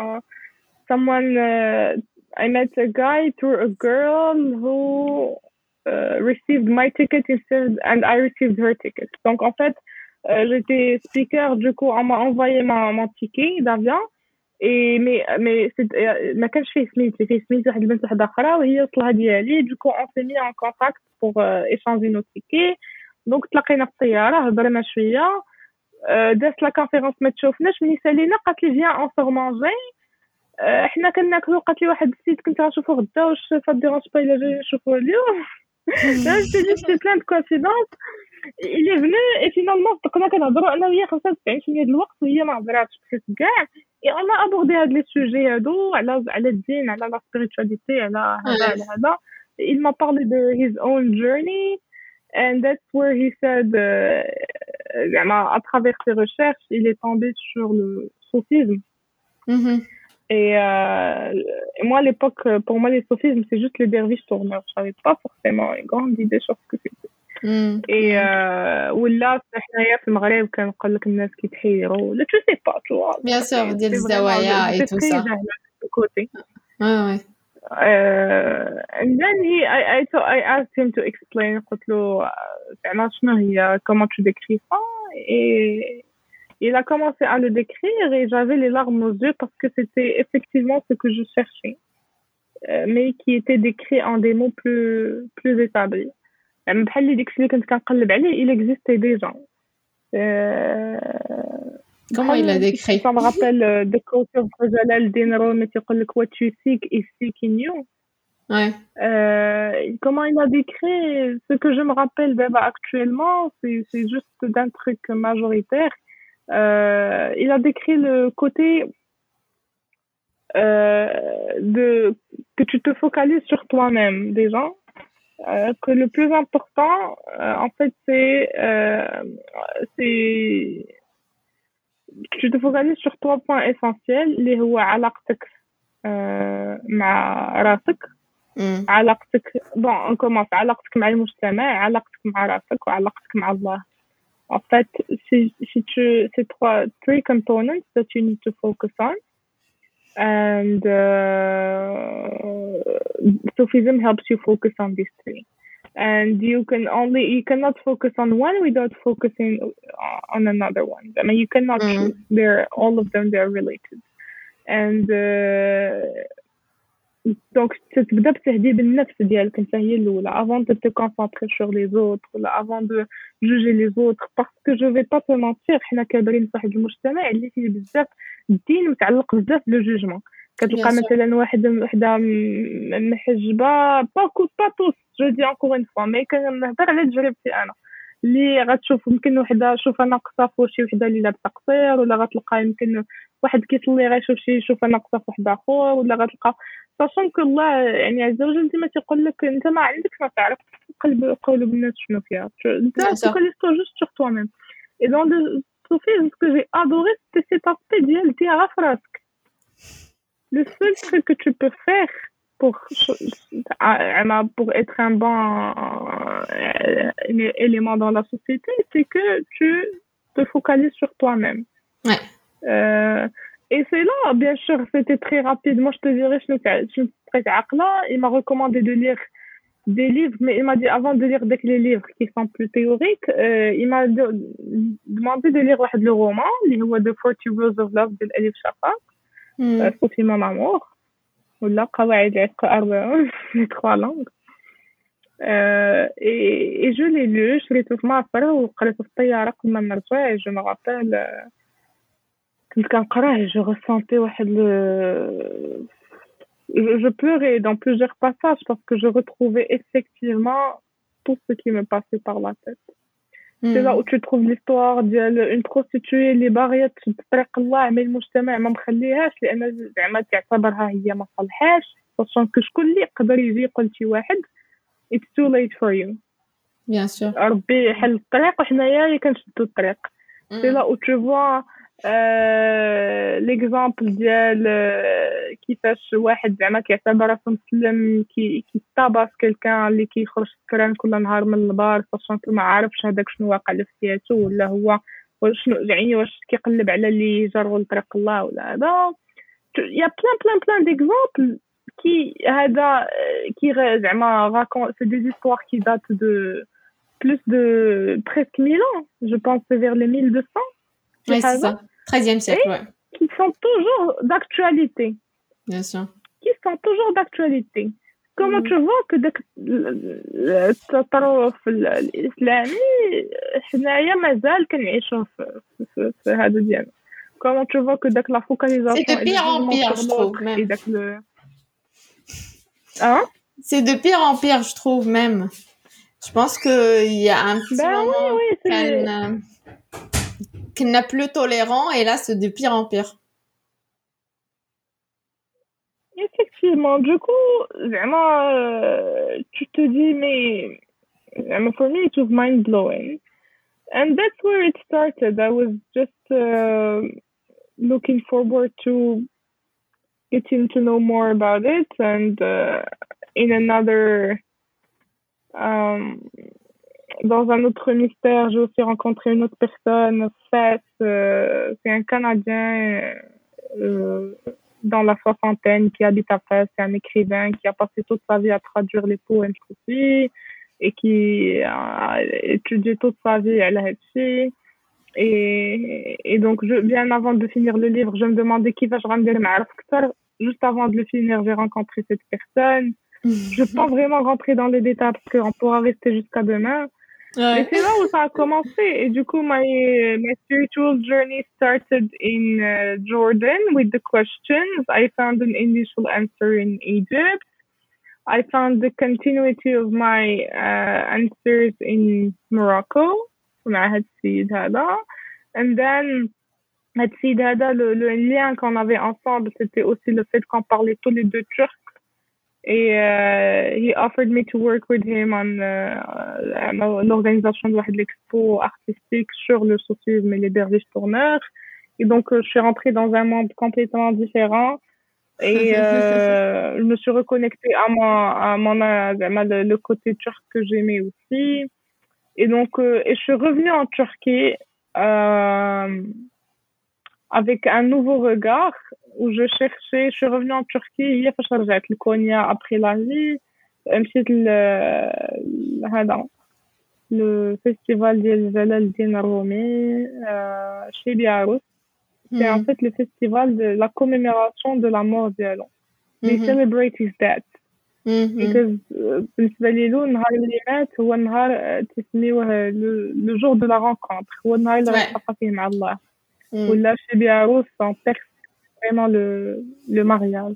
I met a guy through a girl who... received my ticket instead and I received her ticket. Donc en fait j'étais speaker, du coup on m'a envoyé mon ticket d'avion et mais ما كانش فيه سميتي واحد البنت وحده اخرى وهي وصلها ديالي. du coup on s'est mis en contact pour échanger nos tickets. donc تلاقينا في الطياره هضرنا شويه دازت لا كونفيرونس ما تشوفناش ملي سالينا قالت لي فيان اون سور مانجي. حنا كناكلو قالت لي واحد السيد كنت غنشوفو غدا واش فديرونش با الا جاي نشوفو اليوم. Là, je te dis, c'est plein de coïncidences. Il est venu et finalement, كنا كنهضروا انا وياه 95% د الوقت وهي ما هضراتش كاع. Et on a abordé هاد les sujets هادو على الدين على la spiritualité على هذا. Il m'a parlé de his own journey and that's where he said à travers ses recherches, il est tombé sur le soufisme. Et moi, à l'époque, pour moi, les sophismes, c'est juste les derviches tourneurs. Je n'avais pas forcément une grande idée sur ce que c'était. Et ولا حنايا في المغرب كنقول لك الناس كيتحيروا ولا tu sais pas, tu vois. Bien sûr, ديال الزوايا et tout ça. Ouais. And then I asked him to explain. قلت له زعما شنو هي comment tu décris ça. Et il a commencé à le décrire et j'avais les larmes aux yeux parce que c'était effectivement ce que je cherchais, mais qui était décrit en des mots plus établis. بحال اللي داكشي اللي كنت كنقلب عليه il existait déjà. Comment il a décrit? Ça me rappelle the quote of Jalaluddin Rumi qui dit what you seek is seeking you. Ouais. Comment il a décrit ce que je me rappelle actuellement, c'est juste d'un truc majoritaire. Il a décrit le côté que tu te focalises sur toi-même déjà, que le plus important en fait c'est tu te focalises sur 3 points essentiels اللي هو علاقتك مع راسك علاقتك on commence علاقتك مع المجتمع علاقتك مع راسك وعلاقتك مع الله. En fait, c'est three components that you need to focus on, and Sufism helps you focus on these 3. And you cannot focus on one without focusing on another one. I mean, you cannot choose. All of them, they're related. And donc تبدا بتهذيب النفس ديالك انت هي الاولى avant de te concentrer sur les autres ou avant de juger les autres parce que je vais pas te mentir حنا كابرين في واحد المجتمع اللي فيه بزاف الدين متعلق بزاف بالجوجمون. كتلقى Bien sûr. مثلا وحده محجبه با توس جو دي انكور اون فوا مي كنهضر على تجربتي انا اللي غتشوف يمكن وحده شوفها ناقصه في شي وحده اللي لابسه قصير ولا غتلقى يمكن واحد كيصلي غيشوف شي يشوفها ناقصه في واحد اخر ولا غتلقى ساشون كو الله يعني عز وجل ديما تيقول لك انت ما عندكش ما تعرف قلوب الناس شنو فيها انت Bien sûr. فوكاليز تو جوست sur toi-même et dans le sophisme ce que j'ai adoré c'était cet aspect ديال ديها في راسك. Le seul truc que tu peux faire pour être un bon élément dans la société, c'est que tu te focalises sur toi-même. Ouais. Et c'est là, bien sûr, c'était très rapide. Moi, je te dirais, je suis très عاقلة. Il m'a recommandé de lire des livres, mais il m'a dit avant de lire les livres qui sont plus théoriques, il m'a demandé de lire le roman, اللي هو The 40 Rules of Love de Elif Shafak. Sophie mon amour. ولا قواعد العشق 4 les 3 langues. Et je l'ai lu, شريته في مصر وقريته في الطيارة قبل ما نرجع. Je me rappelle كنت كنقراه je ressentais واحد je pleurais dans plusieurs passages parce que je retrouvais effectivement tout ce qui me passait par la tête. C'est là où tu trouves l'histoire ديال une prostituée اللي باغيه تطرق الله من المجتمع ما مخليهاش لان زعما تعتبرها هي ما صالحاش خصوصا شكون اللي يقدر يجي يقول شي واحد it's too late for you. Bien sûr. ربي يحل الطريق وحنايا اللي كنشدو الطريق. C'est là où tu vois l'exemple ديال كيفاش واحد زعما كيعتبر راسو مسلم كيطاباس كلكان اللي كيخرج سكران كل نهار من البار فاش ما عارفش هذاك شنو واقع له في حياته ولا هو شنو يعني واش كيقلب على اللي جروا لطريق الله ولا هذا. يا بلان d'exemples qui هذا qui زعما raconte c'est des histoires qui datent de plus de presque 1000 ans, je pense vers les 1200. Oui, c'est ça. 13e siècle, ouais. Qui sont toujours d'actualité. Bien sûr. Qui sont toujours d'actualité. Comment tu vois que التطرف الإسلامي حنايا مازال كنعيشوه في هذا ديالنا. Comment tu vois que داك la focalisation c'est de pire en pire, je trouve même. Hein? C'est de pire en pire, je trouve même. Je pense qu'il y a un petit moment qu'on n'a plus tolérant et là c'est de pire en pire. Effectivement, du coup, vraiment, tu te dis, mais for me it was mind-blowing. And that's where it started. I was just looking forward to getting to know more about it and in another... dans un autre mystère, j'ai aussi rencontré une autre personne, Fess, c'est un Canadien dans la soixantaine qui habite à Fès, c'est un écrivain qui a passé toute sa vie à traduire les poèmes aussi et qui a étudié toute sa vie à l'Haïti. Et donc, bien avant de finir le livre, je me demandais qui va-je rendre معرف أكثر. Juste avant de le finir, j'ai rencontré cette personne. Je peux pas vraiment rentrer dans les détails parce qu'on pourra rester jusqu'à demain. Ouais. Mais c'est là où ça a commencé. Et du coup, my spiritual journey started in Jordan with the questions. I found an initial answer in Egypt. I found the continuity of my answers in Morocco. مع هاد السيد هذا. And then, هاد السيد هذا, le lien qu'on avait ensemble, c'était aussi le fait qu'on parlait tous les deux turc. Et he offered me to work with him on l'organisation de l'expo artistique sur le soufisme et les derviches tourneurs. Et donc, je suis rentrée dans un monde complètement différent. Et je me suis reconnectée le côté turc que j'aimais aussi. Et donc, et je suis revenue en Turquie avec un nouveau regard où je cherchais. Je suis revenue en Turquie hier فاش رجعت لكونيا après la vie. مشيت هذا le festival ديال جلال الدين الرومي chez Biarritz. C'est en fait le festival de la commémoration de la mort ديالو. They celebrate his death. Because بالنسبة لي النهار اللي مات هو النهار تسميوه le jour de la rencontre. هو النهار اللي غتلاقى فيه مع الله. ولا chez Biarritz en perse vraiment le mariage.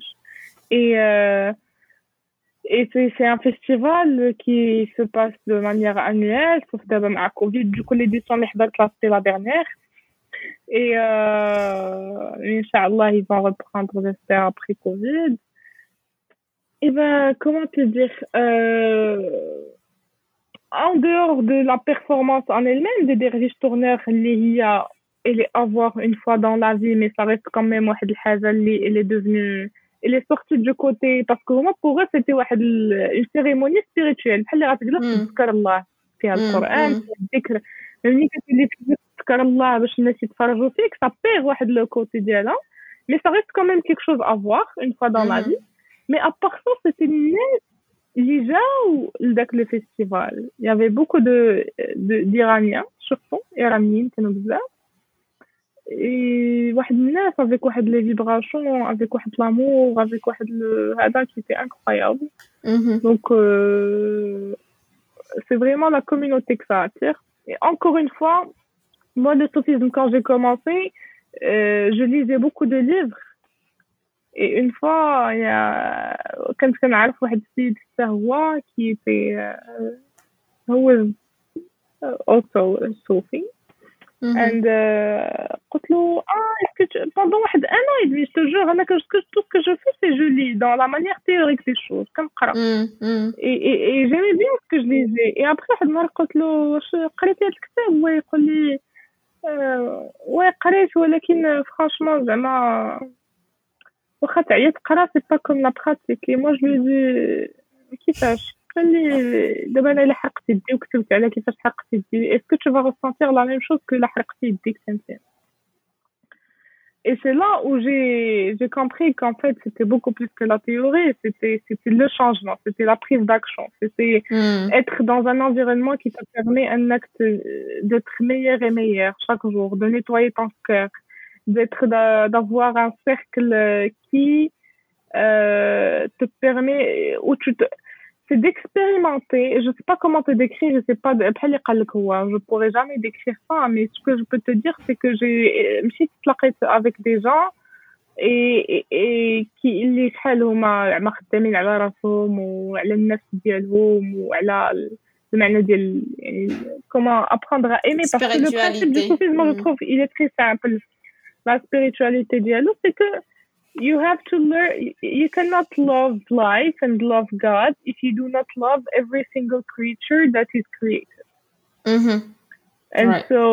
Et c'est un festival qui se passe de manière annuelle, sauf d'abord à Covid. Du coup, l'édition c'était la dernière. Et Inch'Allah, ils vont reprendre, j'espère, après Covid. Et ben, comment te dire, en dehors de la performance en elle-même, des derviches tourneurs, elle est à voir une fois dans la vie, mais ça reste quand même واحد الحاجة اللي elle est devenue, elle est sortie du côté, parce que vraiment pour eux c'était واحد une cérémonie spirituelle بحال اللي غتجلس تذكر الله فيها القرآن فيها الذكر. ملي كتولي تذكر الله باش الناس يتفرجوا فيك ça perd واحد le côté ديالها, mais ça reste quand même quelque chose à voir une fois dans la vie. Mais à part ça, c'était الناس اللي جاو لذاك le festival. Il y avait beaucoup d'Iraniens, surtout iraniens كانوا بزاف. Et واحد الناس avec واحد les vibrations, avec واحد l'amour, avec واحد هذا qui était incroyable. Donc c'est vraiment la communauté que ça attire. Et encore une fois, moi le soufisme quand j'ai commencé, je lisais beaucoup de livres. Et une fois, il y a كنت كنعرف واحد السيد حتى هو qui était هو also Sufi. And قلت له est-ce que pendant واحد un an et demi je te jure انا tout ce que je fais c'est je lis dans la manière théorique des choses كنقرا et j'aimais bien ce que je lisais. Et après واحد المره قلت له واش قريتي هذا الكتاب؟ هو يقول لي ouais قريت ولكن franchement زعما واخا تعيا تقرا سي با كوم لا براتيك. اي مو جو دي كيفاش قال لي دابا انا الا حرقت يدي وكتبت على كيفاش حرقت يدي اسكو تو فا ressentir la même chose que لا حرقتي يديك انت. Et c'est là où j'ai compris qu'en fait c'était beaucoup plus que la théorie, c'était le changement, c'était la prise d'action, c'était être dans un environnement qui te permet un acte d'être meilleur et meilleur chaque jour, de nettoyer ton cœur, d'avoir un cercle qui te permet où c'est d'expérimenter. Je sais pas comment te décrire, je sais pas je pourrais jamais décrire ça, mais ce que je peux te dire c'est que j'ai مشيت تلاقيت avec des gens et qui اللي شحال هما خدامين على راسهم وعلى النفس ديالهم وعلى المعنى ديال يعني comment apprendre à aimer, parce que le principe du soufisme je trouve il est très simple. La spiritualité dialogue, c'est que you have to learn, you cannot love life and love God if you do not love every single creature that is created. And right. So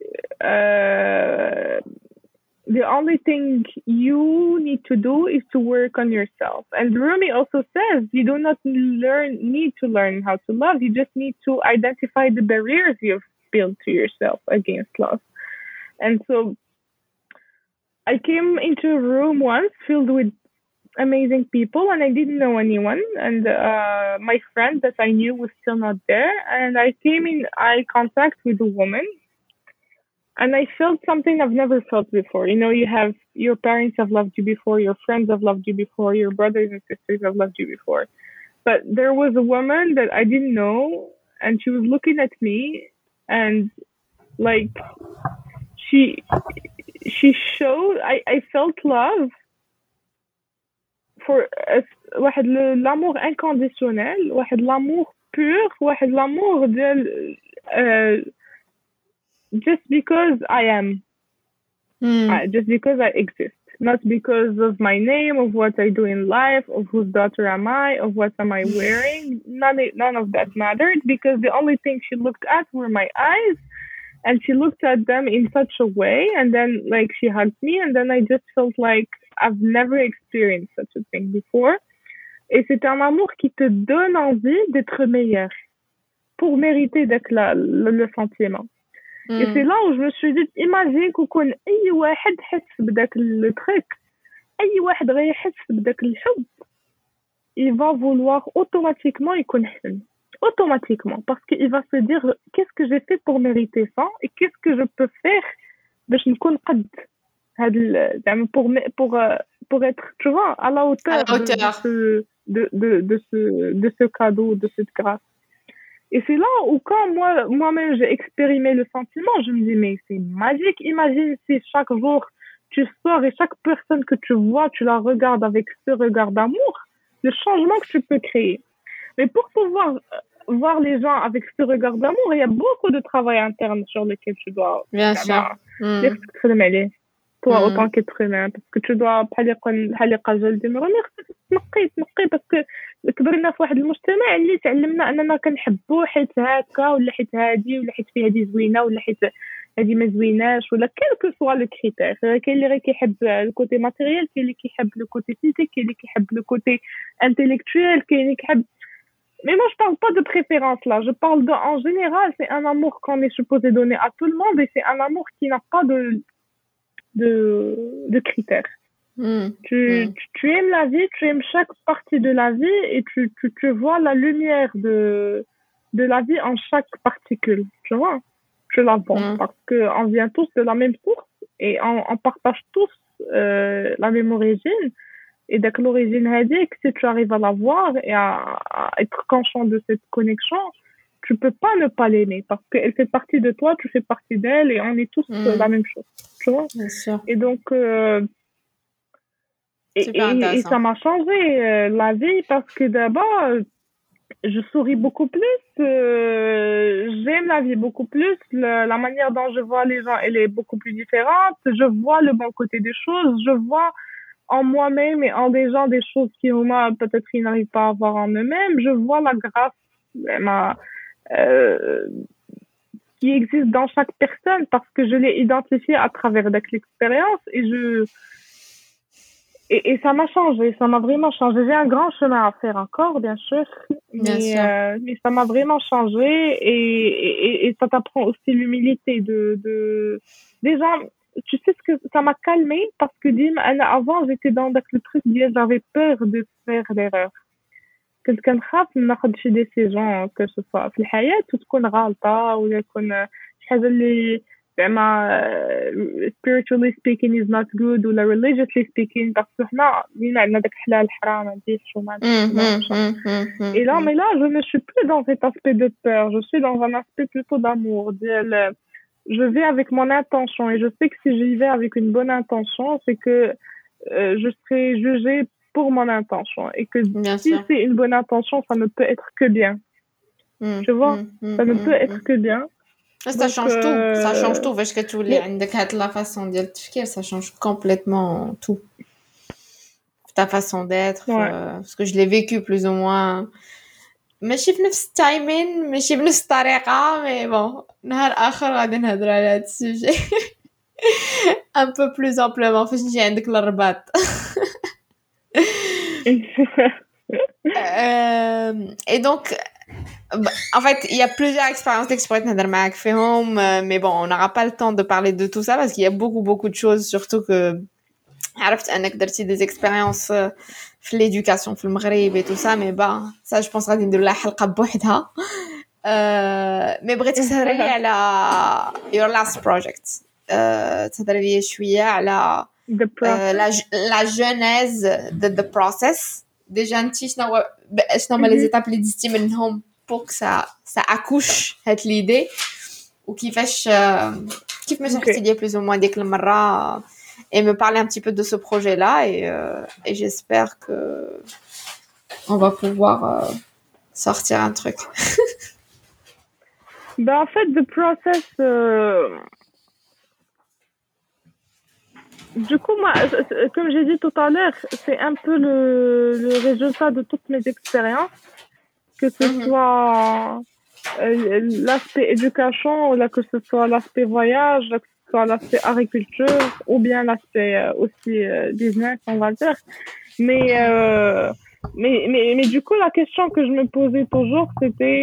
the only thing you need to do is to work on yourself. And Rumi also says you do not need to learn how to love, you just need to identify the barriers you've built to yourself against love. And so I came into a room once filled with amazing people and I didn't know anyone, and my friend that I knew was still not there, and I came in eye contact with a woman and I felt something I've never felt before. You know, your parents have loved you before, your friends have loved you before, your brothers and sisters have loved you before, but there was a woman that I didn't know and she was looking at me and like she showed I felt love for واحد l'amour inconditionnel, واحد l'amour pur, واحد l'amour ديال just because I am, just because I exist, not because of my name, of what I do in life, of whose daughter am I, of what am I wearing. None of that mattered, because the only thing she looked at were my eyes. And she looked at them in such a way, and then like she hugged me, and then I just felt like I've never experienced such a thing before. Et c'est un amour qui te donne envie d'être meilleur pour mériter d'être le sentiment. Et c'est là où je me suis dit, imagine كون أي واحد حس بداك le truc, أي واحد غيحس بداك الحب, il va vouloir automatiquement يكون حسن. Automatiquement, parce qu'il va se dire qu'est-ce que j'ai fait pour mériter ça et qu'est-ce que je peux faire باش نكون قد هاد pour être, tu vois, à la hauteur de ce cadeau, de cette grâce. Et c'est là où quand moi-même j'ai expérimenté le sentiment, je me dis mais c'est magique. Imagine si chaque jour tu sors et chaque personne que tu vois, tu la regardes avec ce regard d'amour, le changement que tu peux créer. Mais pour pouvoir voir les gens avec ce regard d'amour, il y a beaucoup de travail interne sur lequel tu dois Bien sûr. dire ce que tu fais aller. Toi, autant qu'être humain, parce que tu dois بحال اللي قال جلدي مروني خصك تنقي باسكو كبرنا في واحد المجتمع اللي تعلمنا اننا كنحبوا حيت هكا ولا حيت هادي ولا حيت فيه هادي زوينه ولا حيت هادي ما زويناش ولا كيلكو سوا لو كريتير. كاين اللي غير كيحب الكوتي ماتيريال، كاين اللي كيحب لو كوتي فيزيك، كاين اللي كيحب لو كوتي انتيليكتويل، كاين اللي كيحب. Mais moi, je parle pas de préférence là. Je parle de, en général, c'est un amour qu'on est supposé donner à tout le monde et c'est un amour qui n'a pas de critères. Tu aimes la vie, tu aimes chaque partie de la vie et tu vois la lumière de la vie en chaque particule. Tu vois, tu la vois parce qu'on vient tous de la même source et on partage tous la même origine. Et dès que l'origine هذيك, si tu arrives à la voir et à être conscient de cette connexion, tu peux pas ne pas l'aimer parce qu'elle fait partie de toi, tu fais partie d'elle et on est tous la même chose, tu vois. Bien sûr. Et donc et ça m'a changé la vie parce que d'abord je souris beaucoup plus, j'aime la vie beaucoup plus, la manière dont je vois les gens elle est beaucoup plus différente, je vois le bon côté des choses, je vois en moi-même et en des gens des choses qui moi peut-être ils n'arrivent pas à voir en eux-mêmes. Je vois la grâce qui existe dans chaque personne parce que je l'ai identifiée à travers l'expérience et ça m'a changé, ça m'a vraiment changé. J'ai un grand chemin à faire encore, bien sûr, mais ça m'a vraiment changé et ça t'apprend aussi l'humilité de des gens. Tu sais ce que ça m'a calmé parce que avant j'étais dans le truc j'avais peur de faire l'erreur. كنت كنخاف ناخذ شي ديسيجن que ce soit في الحياة وتكون غلطة ولا يكون شي حاجة اللي زعما spiritually speaking is not good ولا religiously speaking parce que حنا ديما عندنا داك الحلال الحرام هادي الشومان. Et là mais là je ne suis plus dans cet aspect de peur, je suis dans un aspect plutôt d'amour. Je vais avec mon intention et je sais que si j'y vais avec une bonne intention, c'est que je serai jugée pour mon intention et que si c'est une bonne intention, ça ne peut être que bien. Tu vois, ça ne peut être que bien. Ça change tout, ça change tout parce que tu as la façon de dire, ça change complètement tout. Ta façon d'être, parce que je l'ai vécu plus ou moins. ماشي في نفس التايمين ماشي بنفس الطريقه مي بون نهار اخر غادي نهضر على هذا السوجي ان بو بلوز امبلومون فاش نجي عندك للرباط. Et donc en fait il y a plusieurs expériences que je pourrais نهضر معاك فيهم mais bon on n'aura pas le temps de parler de tout ça parce qu'il y a beaucoup de choses surtout que عرفت انك درتي des expériences في l'éducation في المغرب et tout ça mais bah ça je pense غادي ندير لها حلقه بوحدها. mais بغيتك تهضري لي على your last project, تهضري لي شويه على la genèse de the process. déjà انتي شنو هما les étapes اللي دزتي منهم pour que ça accouche هاد l'idée وكيفاش ما شرحتي لي plus ou moins ديك المره et me parler un petit peu de ce projet-là et j'espère que on va pouvoir sortir un truc. Ben en fait, the process du coup moi comme j'ai dit tout à l'heure, c'est un peu le résultat de toutes mes expériences, que ce soit l'aspect éducation ou là que ce soit l'aspect voyage, là, que ce soit l'aspect agriculture ou bien l'aspect aussi business on va dire. Mais du coup la question que je me posais toujours c'était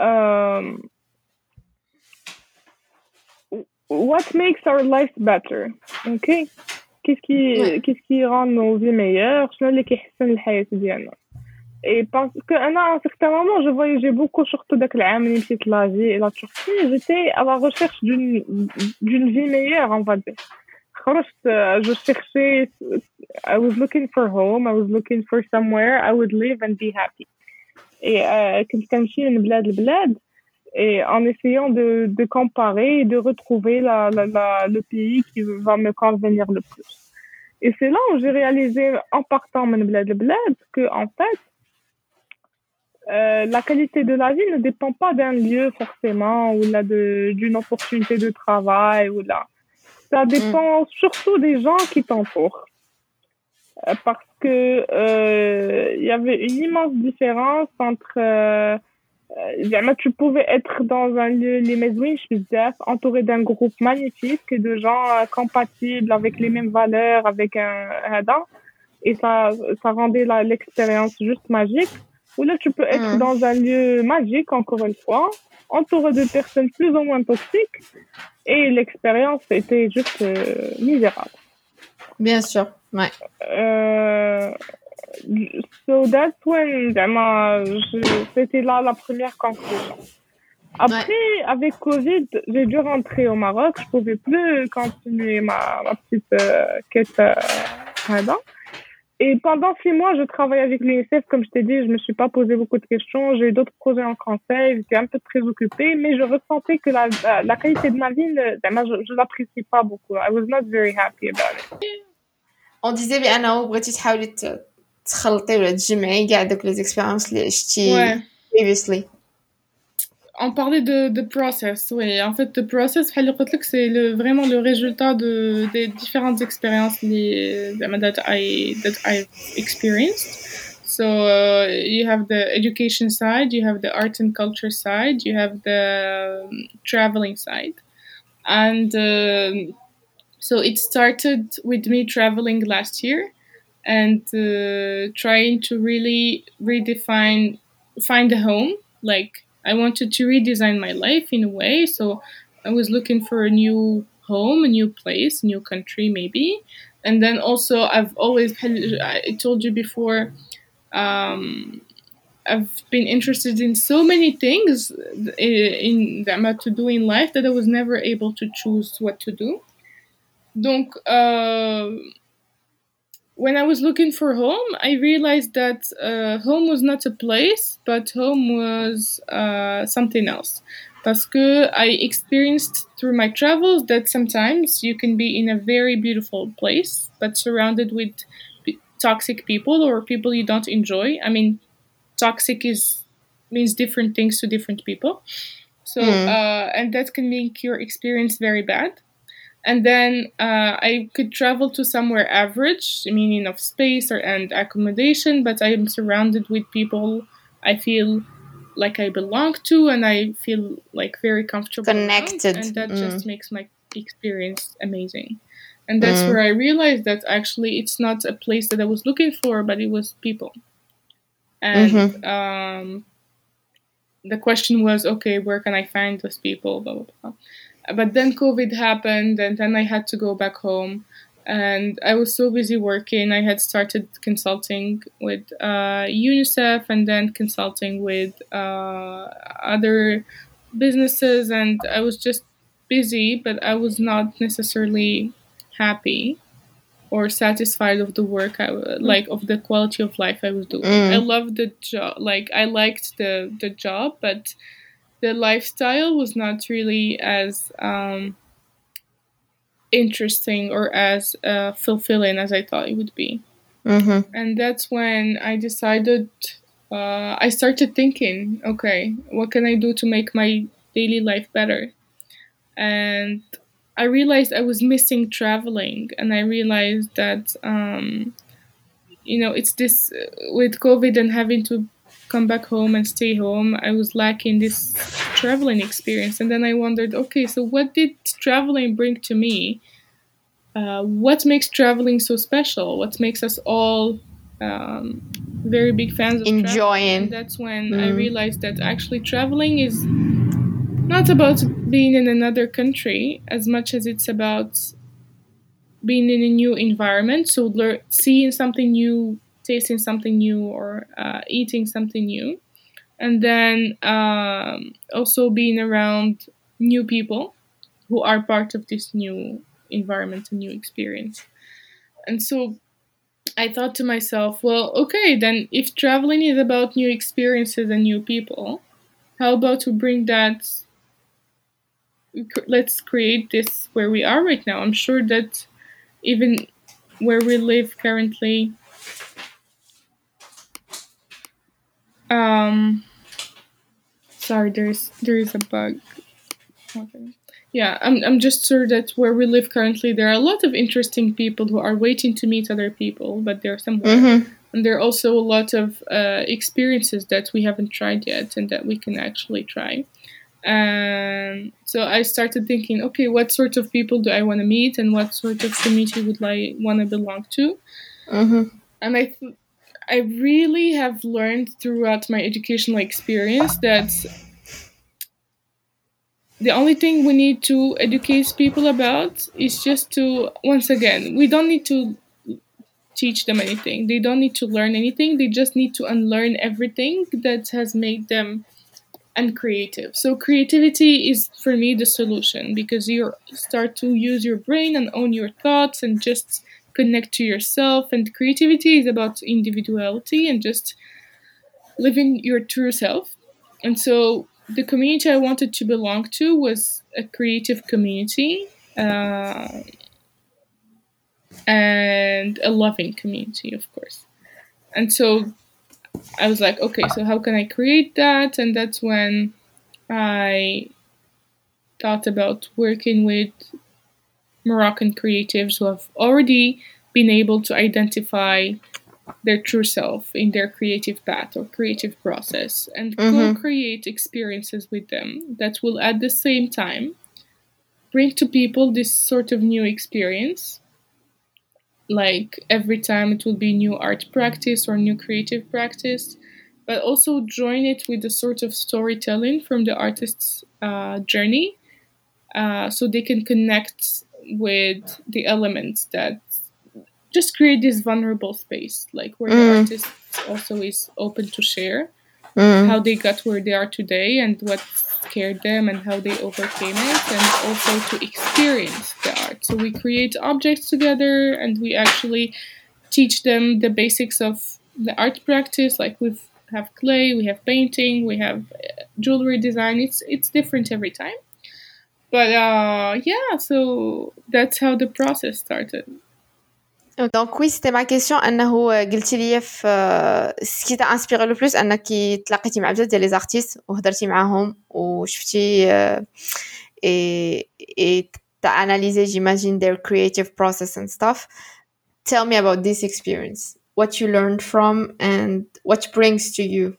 what makes our life better? OK? Qu'est-ce qui rend nos vies meilleures? شنو اللي كيحسن الحياة ديالنا؟ Et parce que à un certain moment je voyageais beaucoup surtout داك العام اللي مشيت l'Asie et la Turquie, j'étais à la recherche d'une vie meilleure on va dire. خرجت je cherchais, I was looking for home, I was looking for somewhere I would live and be happy. Et كنت كنمشي من بلاد لبلاد et en essayant de comparer et de retrouver le pays qui va me convenir le plus. Et c'est là où j'ai réalisé, en partant de bled que, en fait, la qualité de la vie ne dépend pas d'un lieu forcément, ou là d'une opportunité de travail, ou là. Ça dépend surtout des gens qui t'entourent. Parce que il y avait une immense différence entre tu pouvais être dans un lieu les مزوين بزاف entouré d'un groupe magnifique de gens compatibles avec les mêmes valeurs avec un هذا et ça rendait l'expérience juste magique. Ou là tu peux être dans un lieu magique encore une fois entouré de personnes plus ou moins toxiques et l'expérience était juste misérable. Bien sûr, ouais. So that's when c'était là la première conclusion. Après, avec Covid, j'ai dû rentrer au Maroc. Je pouvais plus continuer ma petite quête là. Et pendant 6 mois, je travaillais avec l'UNICEF. Comme je t'ai dit, je me suis pas posé beaucoup de questions. J'ai eu d'autres projets en conseil. J'étais un peu très occupée, mais je ressentais que la qualité de ma vie, je l'apprécie pas beaucoup. I was not very happy about it. On disait بأنه بغيتي تحاولي تخلطي ولا تجمعي كاع دوك les expériences اللي عشتي previously. On parlait de process, oui. En fait, le process, c'est vraiment le résultat des différentes expériences that I've experienced. So you have the education side, you have the art and culture side, you have the traveling side, and so it started with me traveling last year and trying to really find a home, like. I wanted to redesign my life in a way, so I was looking for a new home, a new place, a new country maybe. And then also I told you before, I've been interested in so many things to do in life that I was never able to choose what to do. Donc, when I was looking for home, I realized that home was not a place, but home was something else. Parce que I experienced through my travels that sometimes you can be in a very beautiful place, but surrounded with toxic people or people you don't enjoy. I mean, toxic means different things to different people. So, and that can make your experience very bad. And then I could travel to somewhere average, meaning of space and accommodation, but I am surrounded with people I feel like I belong to and I feel like very comfortable connected around, and that just makes my experience amazing. And that's where I realized that actually it's not a place that I was looking for, but it was people. And the question was, okay, where can I find those people, blah blah blah. But then COVID happened, and then I had to go back home. And I was so busy working. I had started consulting with UNICEF and then consulting with other businesses. And I was just busy, but I was not necessarily happy or satisfied of the work, of the quality of life I was doing. I loved the job. Like, I liked the job, but the lifestyle was not really as interesting or as fulfilling as I thought it would be. And that's when I decided, I started thinking, okay, what can I do to make my daily life better? And I realized I was missing traveling, and I realized that, it's this, with COVID and having to come back home and stay home, I was lacking this traveling experience. And then I wondered, okay, so what did traveling bring to me? What makes traveling so special? What makes us all very big fans of enjoying traveling? And that's when I realized that actually traveling is not about being in another country as much as it's about being in a new environment, so seeing something new, tasting something new, or eating something new, and then also being around new people who are part of this new environment and new experience. And so I thought to myself, well, okay, then if traveling is about new experiences and new people, how about we bring that, let's create this where we are right now. I'm sure that even where we live currently, sorry, there is a bug. Okay. Yeah, I'm just sure that where we live currently, there are a lot of interesting people who are waiting to meet other people, but they're somewhere. And there are also a lot of experiences that we haven't tried yet and that we can actually try. And so I started thinking, okay, what sort of people do I want to meet, and what sort of community would I want to belong to? And I really have learned throughout my educational experience that the only thing we need to educate people about is just to, once again, we don't need to teach them anything. They don't need to learn anything. They just need to unlearn everything that has made them uncreative. So creativity is, for me, the solution, because you start to use your brain and own your thoughts and just connect to yourself. And creativity is about individuality and just living your true self. And so the community I wanted to belong to was a creative community, and a loving community, of course. And so I was like, okay, so how can I create that? And that's when I thought about working with Moroccan creatives who have already been able to identify their true self in their creative path or creative process, and co-create experiences with them that will at the same time bring to people this sort of new experience. Like every time it will be new art practice or new creative practice, but also join it with a sort of storytelling from the artist's journey, so they can connect with the elements that just create this vulnerable space, like where the artist also is open to share how they got where they are today and what scared them and how they overcame it, and also to experience the art. So we create objects together and we actually teach them the basics of the art practice. Like we have clay, we have painting, we have jewelry design. It's different every time. But yeah, so that's how the process started. Donc oui, c'était ma question. أنه قلتي لي في ce qui t'a inspiré le plus أنك تلاقيتي مع بزاف ديال لي زارتيست وهضرتي معاهم وشفتي et t'as analysé, j'imagine, their creative process and stuff. Tell me about this experience. What you learned from and what brings to you.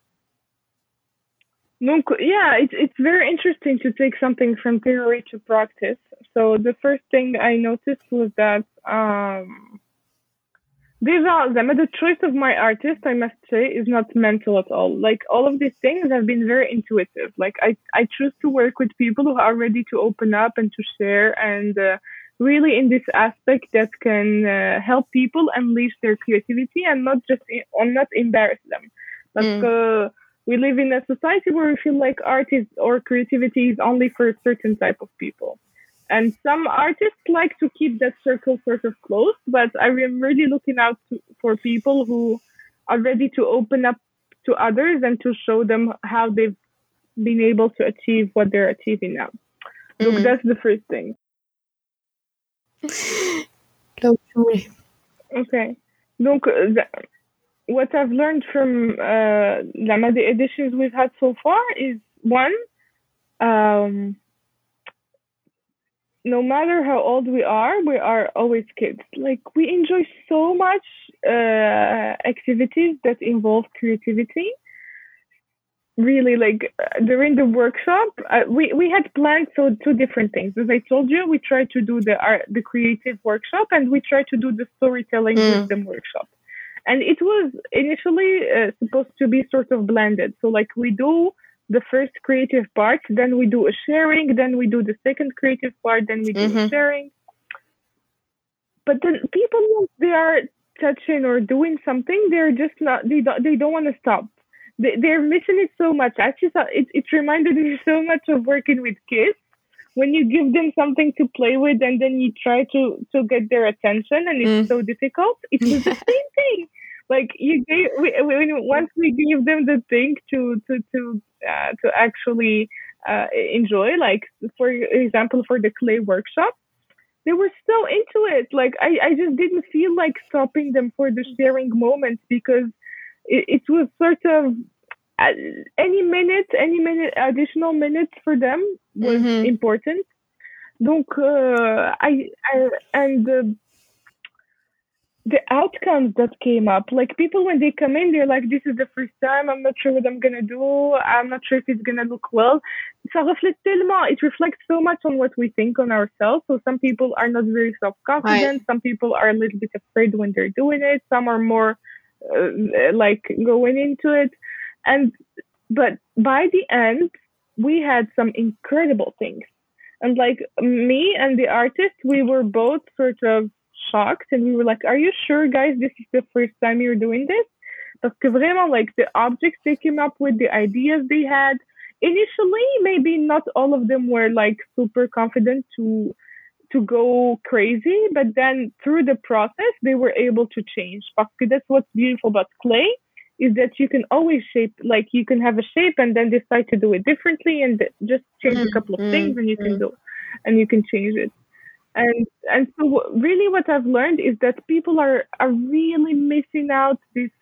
Donc, yeah, it's very interesting to take something from theory to practice. So the first thing I noticed was that the choice of my artist, I must say, is not mental at all. Like all of these things have been very intuitive. Like I choose to work with people who are ready to open up and to share, and really in this aspect that can help people unleash their creativity and not embarrass them. Like, we live in a society where we feel like art is or creativity is only for a certain type of people. And some artists like to keep that circle sort of closed, but I am really looking out for people who are ready to open up to others and to show them how they've been able to achieve what they're achieving now. So that's the first thing. Okay. Donc, what I've learned from the editions we've had so far is, one, no matter how old we are always kids. Like, we enjoy so much activities that involve creativity. Really, like during the workshop, we had planned two different things. As I told you, we tried to do the creative workshop, and we tried to do the storytelling wisdom workshop. And it was initially supposed to be sort of blended. So like we do the first creative part, then we do a sharing, then we do the second creative part, then we do a sharing. But then people, once they are touching or doing something, they're just not, they don't want to stop. They're missing it so much. Actually, it reminded me so much of working with kids. When you give them something to play with and then you try to get their attention and it's so difficult, it was the same thing. Like once we gave them the thing to actually enjoy, like for example for the clay workshop, they were still into it. Like I just didn't feel like stopping them for the sharing moment, because it was sort of any minute additional minutes for them was important. Donc the outcomes that came up, like people when they come in, they're like, this is the first time, I'm not sure what I'm gonna do, I'm not sure if it's gonna look well. It reflects so much on what we think on ourselves. So some people are not very self-confident, some people are a little bit afraid when they're doing it, some are more like going into it. But by the end, we had some incredible things. And like me and the artist, we were both sort of shocked, and we were like, are you sure, guys, this is the first time you're doing this? Parce que vraiment, like the objects they came up with, the ideas they had, initially, maybe not all of them were like super confident to go crazy, but then through the process, they were able to change. Parce que that's what's beautiful about clay, is that you can always shape, like you can have a shape and then decide to do it differently and just change a couple of things and you can change it. And so really what I've learned is that people are really missing out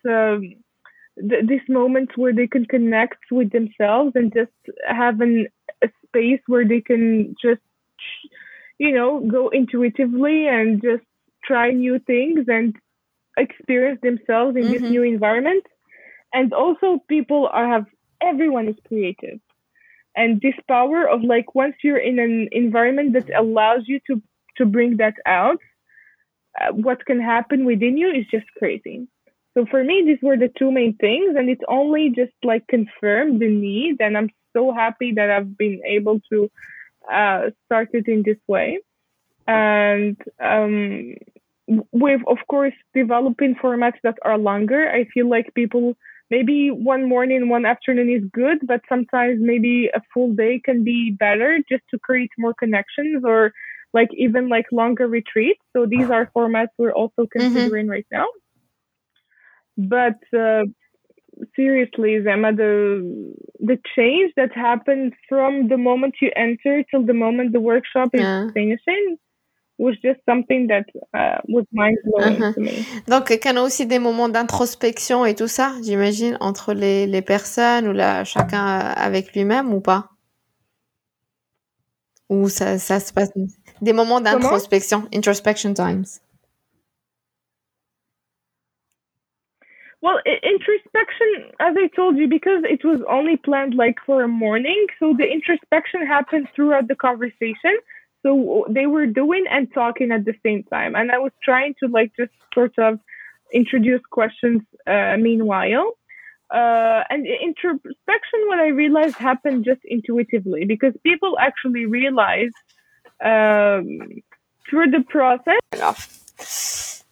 this moment where they can connect with themselves and just have a space where they can just, go intuitively and just try new things and experience themselves in this new environment. And also everyone is creative. And this power of like, once you're in an environment that allows you to bring that out, what can happen within you is just crazy. So for me, these were the two main things, and it only just like confirmed the need. And I'm so happy that I've been able to start it in this way. And with, of course, developing formats that are longer, I feel like people, maybe one morning, one afternoon is good, but sometimes maybe a full day can be better just to create more connections, or like even like longer retreats. So these are formats we're also considering right now. But seriously, Zema, the change that happens from the moment you enter till the moment the workshop is finishing was just something that was mind-blowing to me. Donc, il y a aussi des moments d'introspection et tout ça, j'imagine, entre les personnes ou chacun avec lui-même ou pas? Ou ça se passe... Des moments d'introspection, introspection times. Well, introspection, as I told you, because it was only planned like for a morning, so the introspection happened throughout the conversation. So they were doing and talking at the same time. And I was trying to like just sort of introduce questions meanwhile. And introspection, what I realized, happened just intuitively, because people actually realize through the process.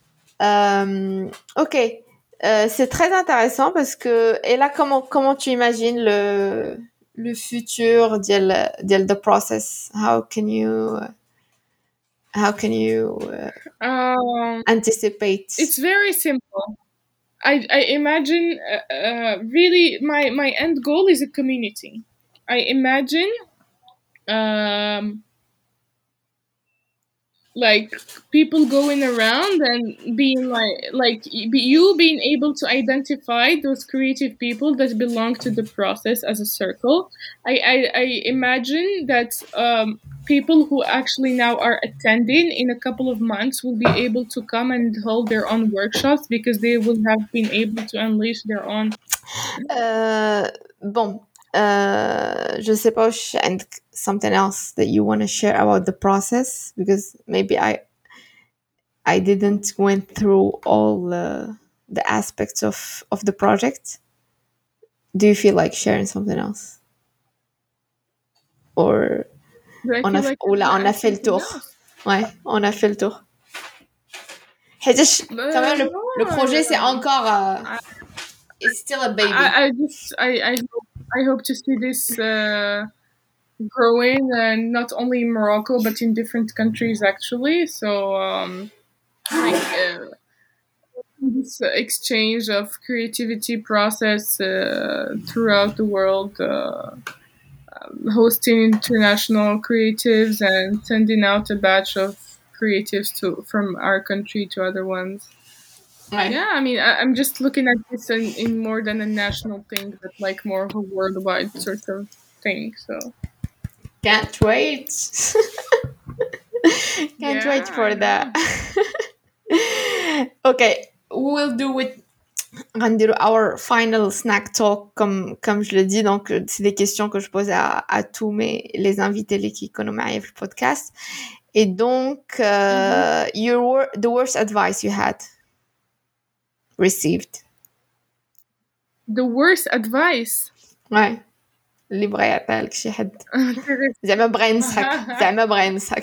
Ok. C'est très intéressant parce que, et là, comment tu imagines le futur ديال the process? How can you anticipate? It's very simple. I imagine really my end goal is a community. I imagine like people going around and being like you being able to identify those creative people that belong to the process as a circle. I imagine that people who actually now are attending in a couple of months will be able to come and hold their own workshops because they will have been able to unleash their own. Bon, je sais pas, and something else that you want to share about the process, because maybe I didn't went through all the aspects of the project. Do you feel like sharing something else? Or on a fait le tour. Ouais, on a fait le tour. Quand même, le projet, c'est encore... it's still a baby. I hope to see this growing, and not only in Morocco, but in different countries, actually. So, this exchange of creativity process throughout the world, hosting international creatives and sending out a batch of creatives from our country to other ones. Ouais. Yeah, I mean, I'm just looking at this in more than a national thing, but like more of a worldwide sort of thing. So Can't wait. Can't wait for that. Okay, we'll do it. غنديرو our final snack talk comme je le dis. Donc c'est des questions que je pose à tous les invités qui يكونوا معايا في البودكاست. Et donc the worst advice you had received. The worst advice. Ouais. اللي بغى يعطيها لك شي حد زعما بغى ينصحك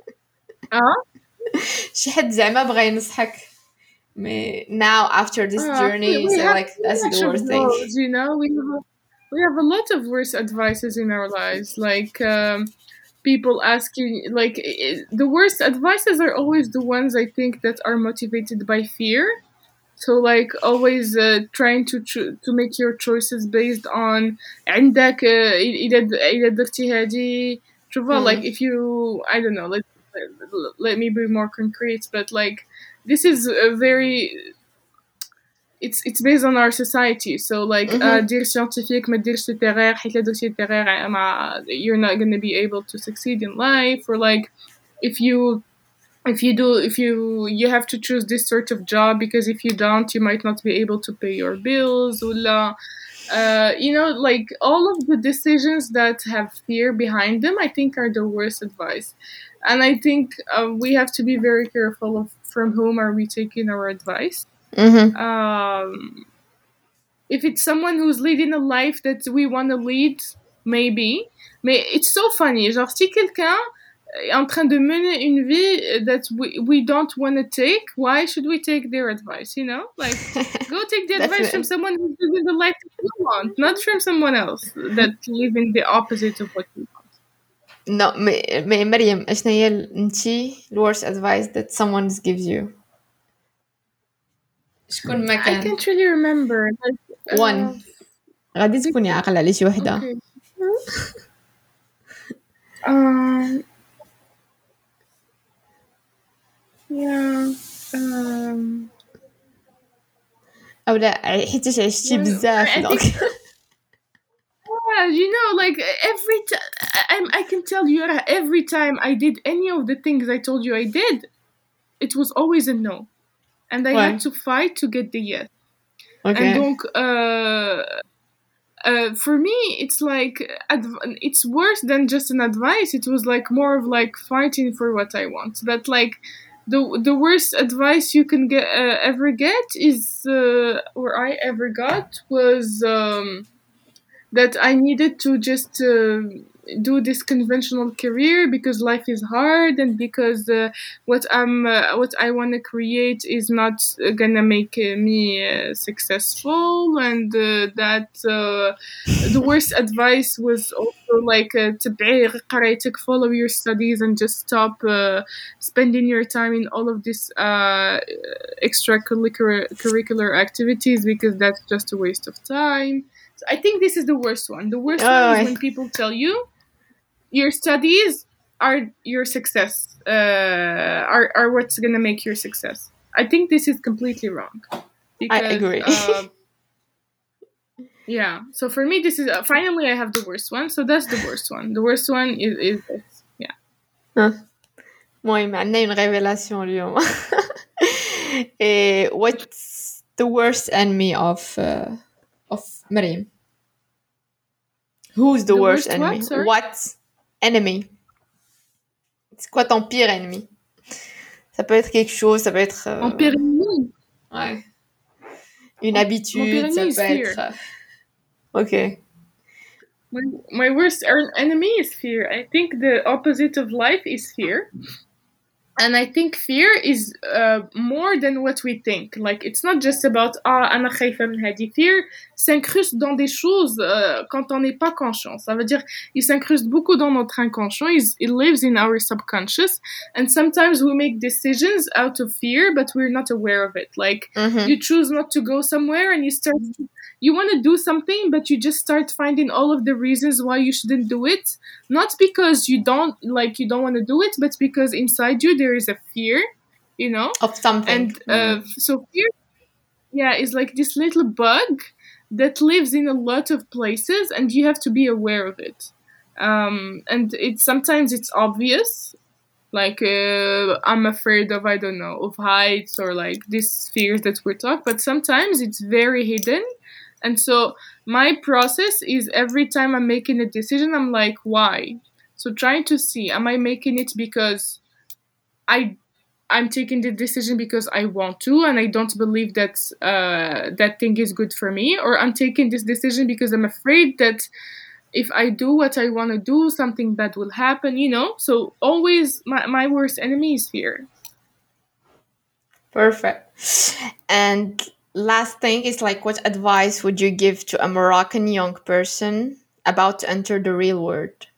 شي حد زعما بغى ينصحك. Now after this journey, so like that's the worst thing. You know, we have a lot of worst advices in our lives, like people asking, like the worst advices are always the ones I think that are motivated by fear. So like always trying to make your choices based on عندك إذا درتي هذه شوفوا like if you I don't know let me be more concrete, but like this is a very it's based on our society. So like دير scientifique ما ديرش littéraire حيت لا درتي littéraire you're not going to be able to succeed in life, or like if you have to choose this sort of job because if you don't you might not be able to pay your bills, or you know, like all of the decisions that have fear behind them I think are the worst advice. And I think we have to be very careful of from whom are we taking our advice. If it's someone who's leading a life that we want to lead, maybe. Mais it's so funny, genre si quelqu'un est en train de mener une vie that we don't want to take, why should we take their advice, you know? Like, go take the advice from someone who's living the life that you want, not from someone else that's living the opposite of what you want. No, mais مريم اشنا هي انتي the worst advice that someone gives you? شكون ما كان؟ I can't really remember. Like, one. غادي تكوني عاقلة على شي وحدة. Okay. Yeah. أو لا حيتاش عشتي بزاف دونك. Yeah, you know, like every time I can tell you every time I did any of the things I told you I did, it was always a no, and I had to fight to get the yes. Okay. And donc, for me, it's like it's worse than just an advice. It was like more of like fighting for what I want. That like the worst advice you can ever get is, or I ever got, was that I needed to just do this conventional career because life is hard, and because what I want to create is not gonna make me successful, and that the worst advice was also like follow your studies and just stop spending your time in all of this extracurricular activities, because that's just a waste of time. So I think this is the worst one. The worst one is when people tell you your studies are your success, are what's gonna make your success. I think this is completely wrong. Because, I agree. Yeah. So for me, this is finally I have the worst one. So that's the worst one. The worst one is this. Yeah. المهم عندنا une révélation اليوم. What's the worst enemy of Mariam? Who's the worst enemy? What enemy? C'est quoi ton pire ennemi? Ça peut être quelque chose, ça peut être... Mon pire ennemi? Ouais. Une habitude, ça peut être... Okay. My worst enemy is fear. I think the opposite of life is fear. And I think fear is more than what we think. Like, it's not just about أنا خايفة من هذه. Fear s'incruste dans des choses quand on n'est pas conscient. Ça veut dire, il s'incruste beaucoup dans notre inconscient. It lives in our subconscious. And sometimes we make decisions out of fear, but we're not aware of it. Like, you choose not to go somewhere and you want to do something, but you just start finding all of the reasons why you shouldn't do it. Not because you don't want to do it, but because inside you there is a fear, of something. And so fear, is like this little bug that lives in a lot of places, and you have to be aware of it. And sometimes it's obvious, like I'm afraid of, I don't know, of heights, or like these fears that we're talking. But sometimes it's very hidden. And so my process is, every time I'm making a decision, I'm like, why? So trying to see, am I making it because I'm taking the decision because I want to, and I don't believe that that thing is good for me, or I'm taking this decision because I'm afraid that if I do what I want to do, something bad will happen, So always my worst enemy is fear. Perfect. And last thing is, like, what advice would you give to a Moroccan young person about to enter the real world?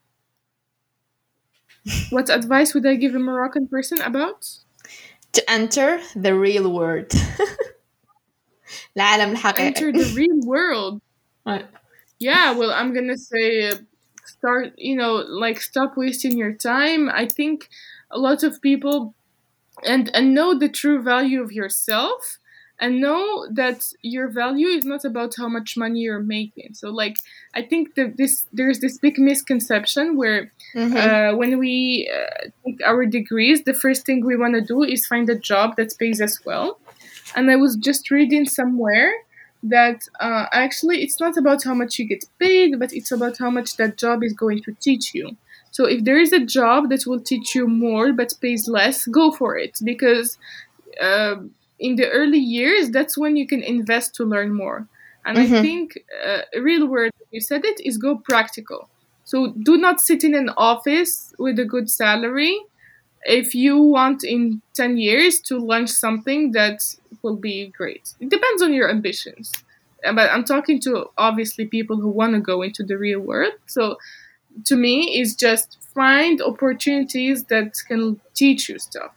What advice would I give a Moroccan person about? To enter the real world. العالم الحقيقي. Enter the real world. Right. Yeah, well, I'm gonna say start, stop wasting your time. I think a lot of people and know the true value of yourself, and know that your value is not about how much money you're making. So, like, I think there's this big misconception where when we take our degrees, the first thing we want to do is find a job that pays us well. And I was just reading somewhere that actually it's not about how much you get paid, but it's about how much that job is going to teach you. So if there is a job that will teach you more but pays less, go for it. Because in the early years, that's when you can invest to learn more. And I think a real word, you said it, is go practical. So do not sit in an office with a good salary if you want in 10 years to launch something that will be great. It depends on your ambitions. But I'm talking to, obviously, people who want to go into the real world. So to me, is just find opportunities that can teach you stuff.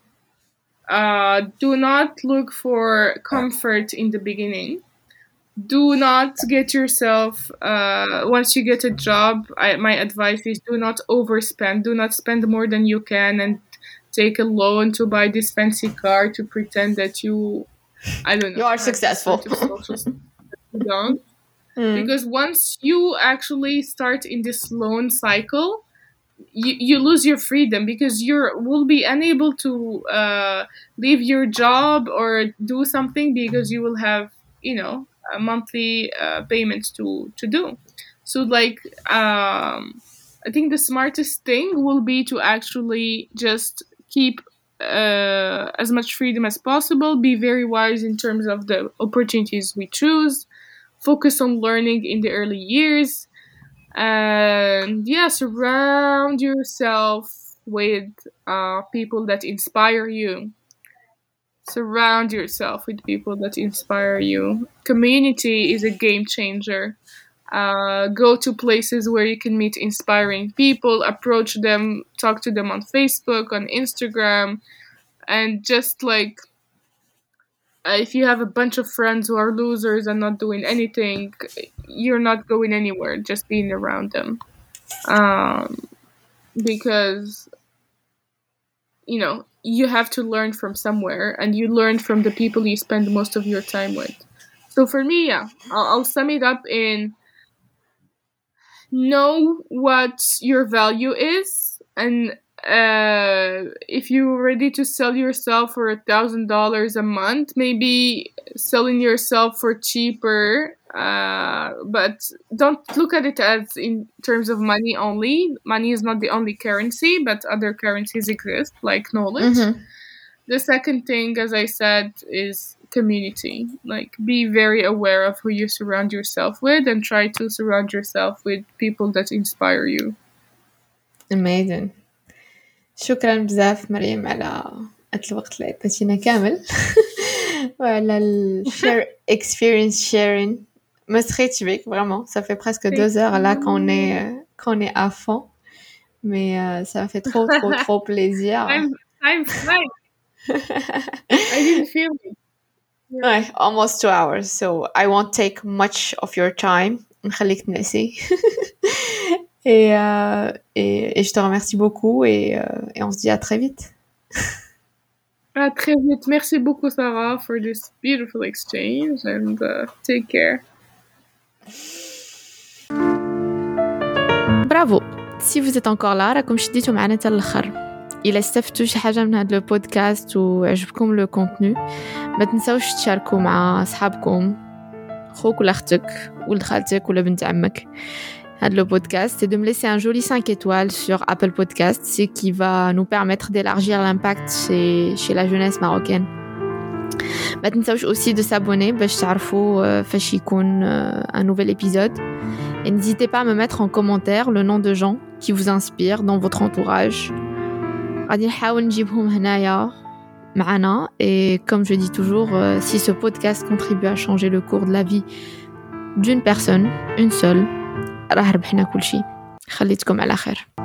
Do not look for comfort in the beginning. Do not get yourself, once you get a job, my advice is do not overspend. Do not spend more than you can and take a loan to buy this fancy car to pretend that you are successful. You don't. Because once you actually start in this loan cycle, you lose your freedom, because will be unable to leave your job or do something, because you will have a monthly payments to do. So, like, I think the smartest thing will be to actually just keep as much freedom as possible, be very wise in terms of the opportunities we choose, focus on learning in the early years, and surround yourself with people that inspire you. Surround yourself with people that inspire you. Community is a game changer. Go to places where you can meet inspiring people, approach them, talk to them on Facebook, on Instagram, and just like, if you have a bunch of friends who are losers and not doing anything, you're not going anywhere just being around them. Because, you have to learn from somewhere, and you learn from the people you spend most of your time with. So for me, I'll sum it up in know what your value is, and if you're ready to sell yourself for $1,000 a month, maybe selling yourself for cheaper, but don't look at it as in terms of money only. Money is not the only currency, but other currencies exist, like knowledge. The second thing, as I said, is community. Like, be very aware of who you surround yourself with, and try to surround yourself with people that inspire you. Amazing. شكرا بزاف مريم على الوقت اللي عطيتينا كامل وعلى share experience sharing. Me serais بك vraiment, ça fait presque 2 heures là qu'on est à fond, mais ça me fait trop plaisir. I'm fine. I didn't feel it. Ouais, almost 2 hours, so I won't take much of your time. نخليك تنسي. Et je te remercie beaucoup et on se dit à très vite. À très vite. Merci beaucoup Sarah for this beautiful exchange and take care. برافو. Si vous êtes encore là راكم شديتوا معنا حتى الاخر. إلا استفدتوا شي حاجه من هذا البودكاست وعجبكم لو كونتوني ما تنساوش تشاركوا مع اصحابكم خوك ولا اختك ولد خالتك ولا بنت عمك le podcast et de me laisser un joli 5 étoiles sur Apple Podcast, ce qui va nous permettre d'élargir l'impact chez la jeunesse marocaine. ما تنساوش aussi de s'abonner باش تعرفوا فاش يكون un nouvel épisode. Et n'hésitez pas à me mettre en commentaire le nom de gens qui vous inspirent dans votre entourage. غادي نحاول نجيبهم هنايا معنا. Et comme je dis toujours, si ce podcast contribue à changer le cours de la vie d'une personne, une seule, راه ربحنا كل شيء. خليتكم على خير.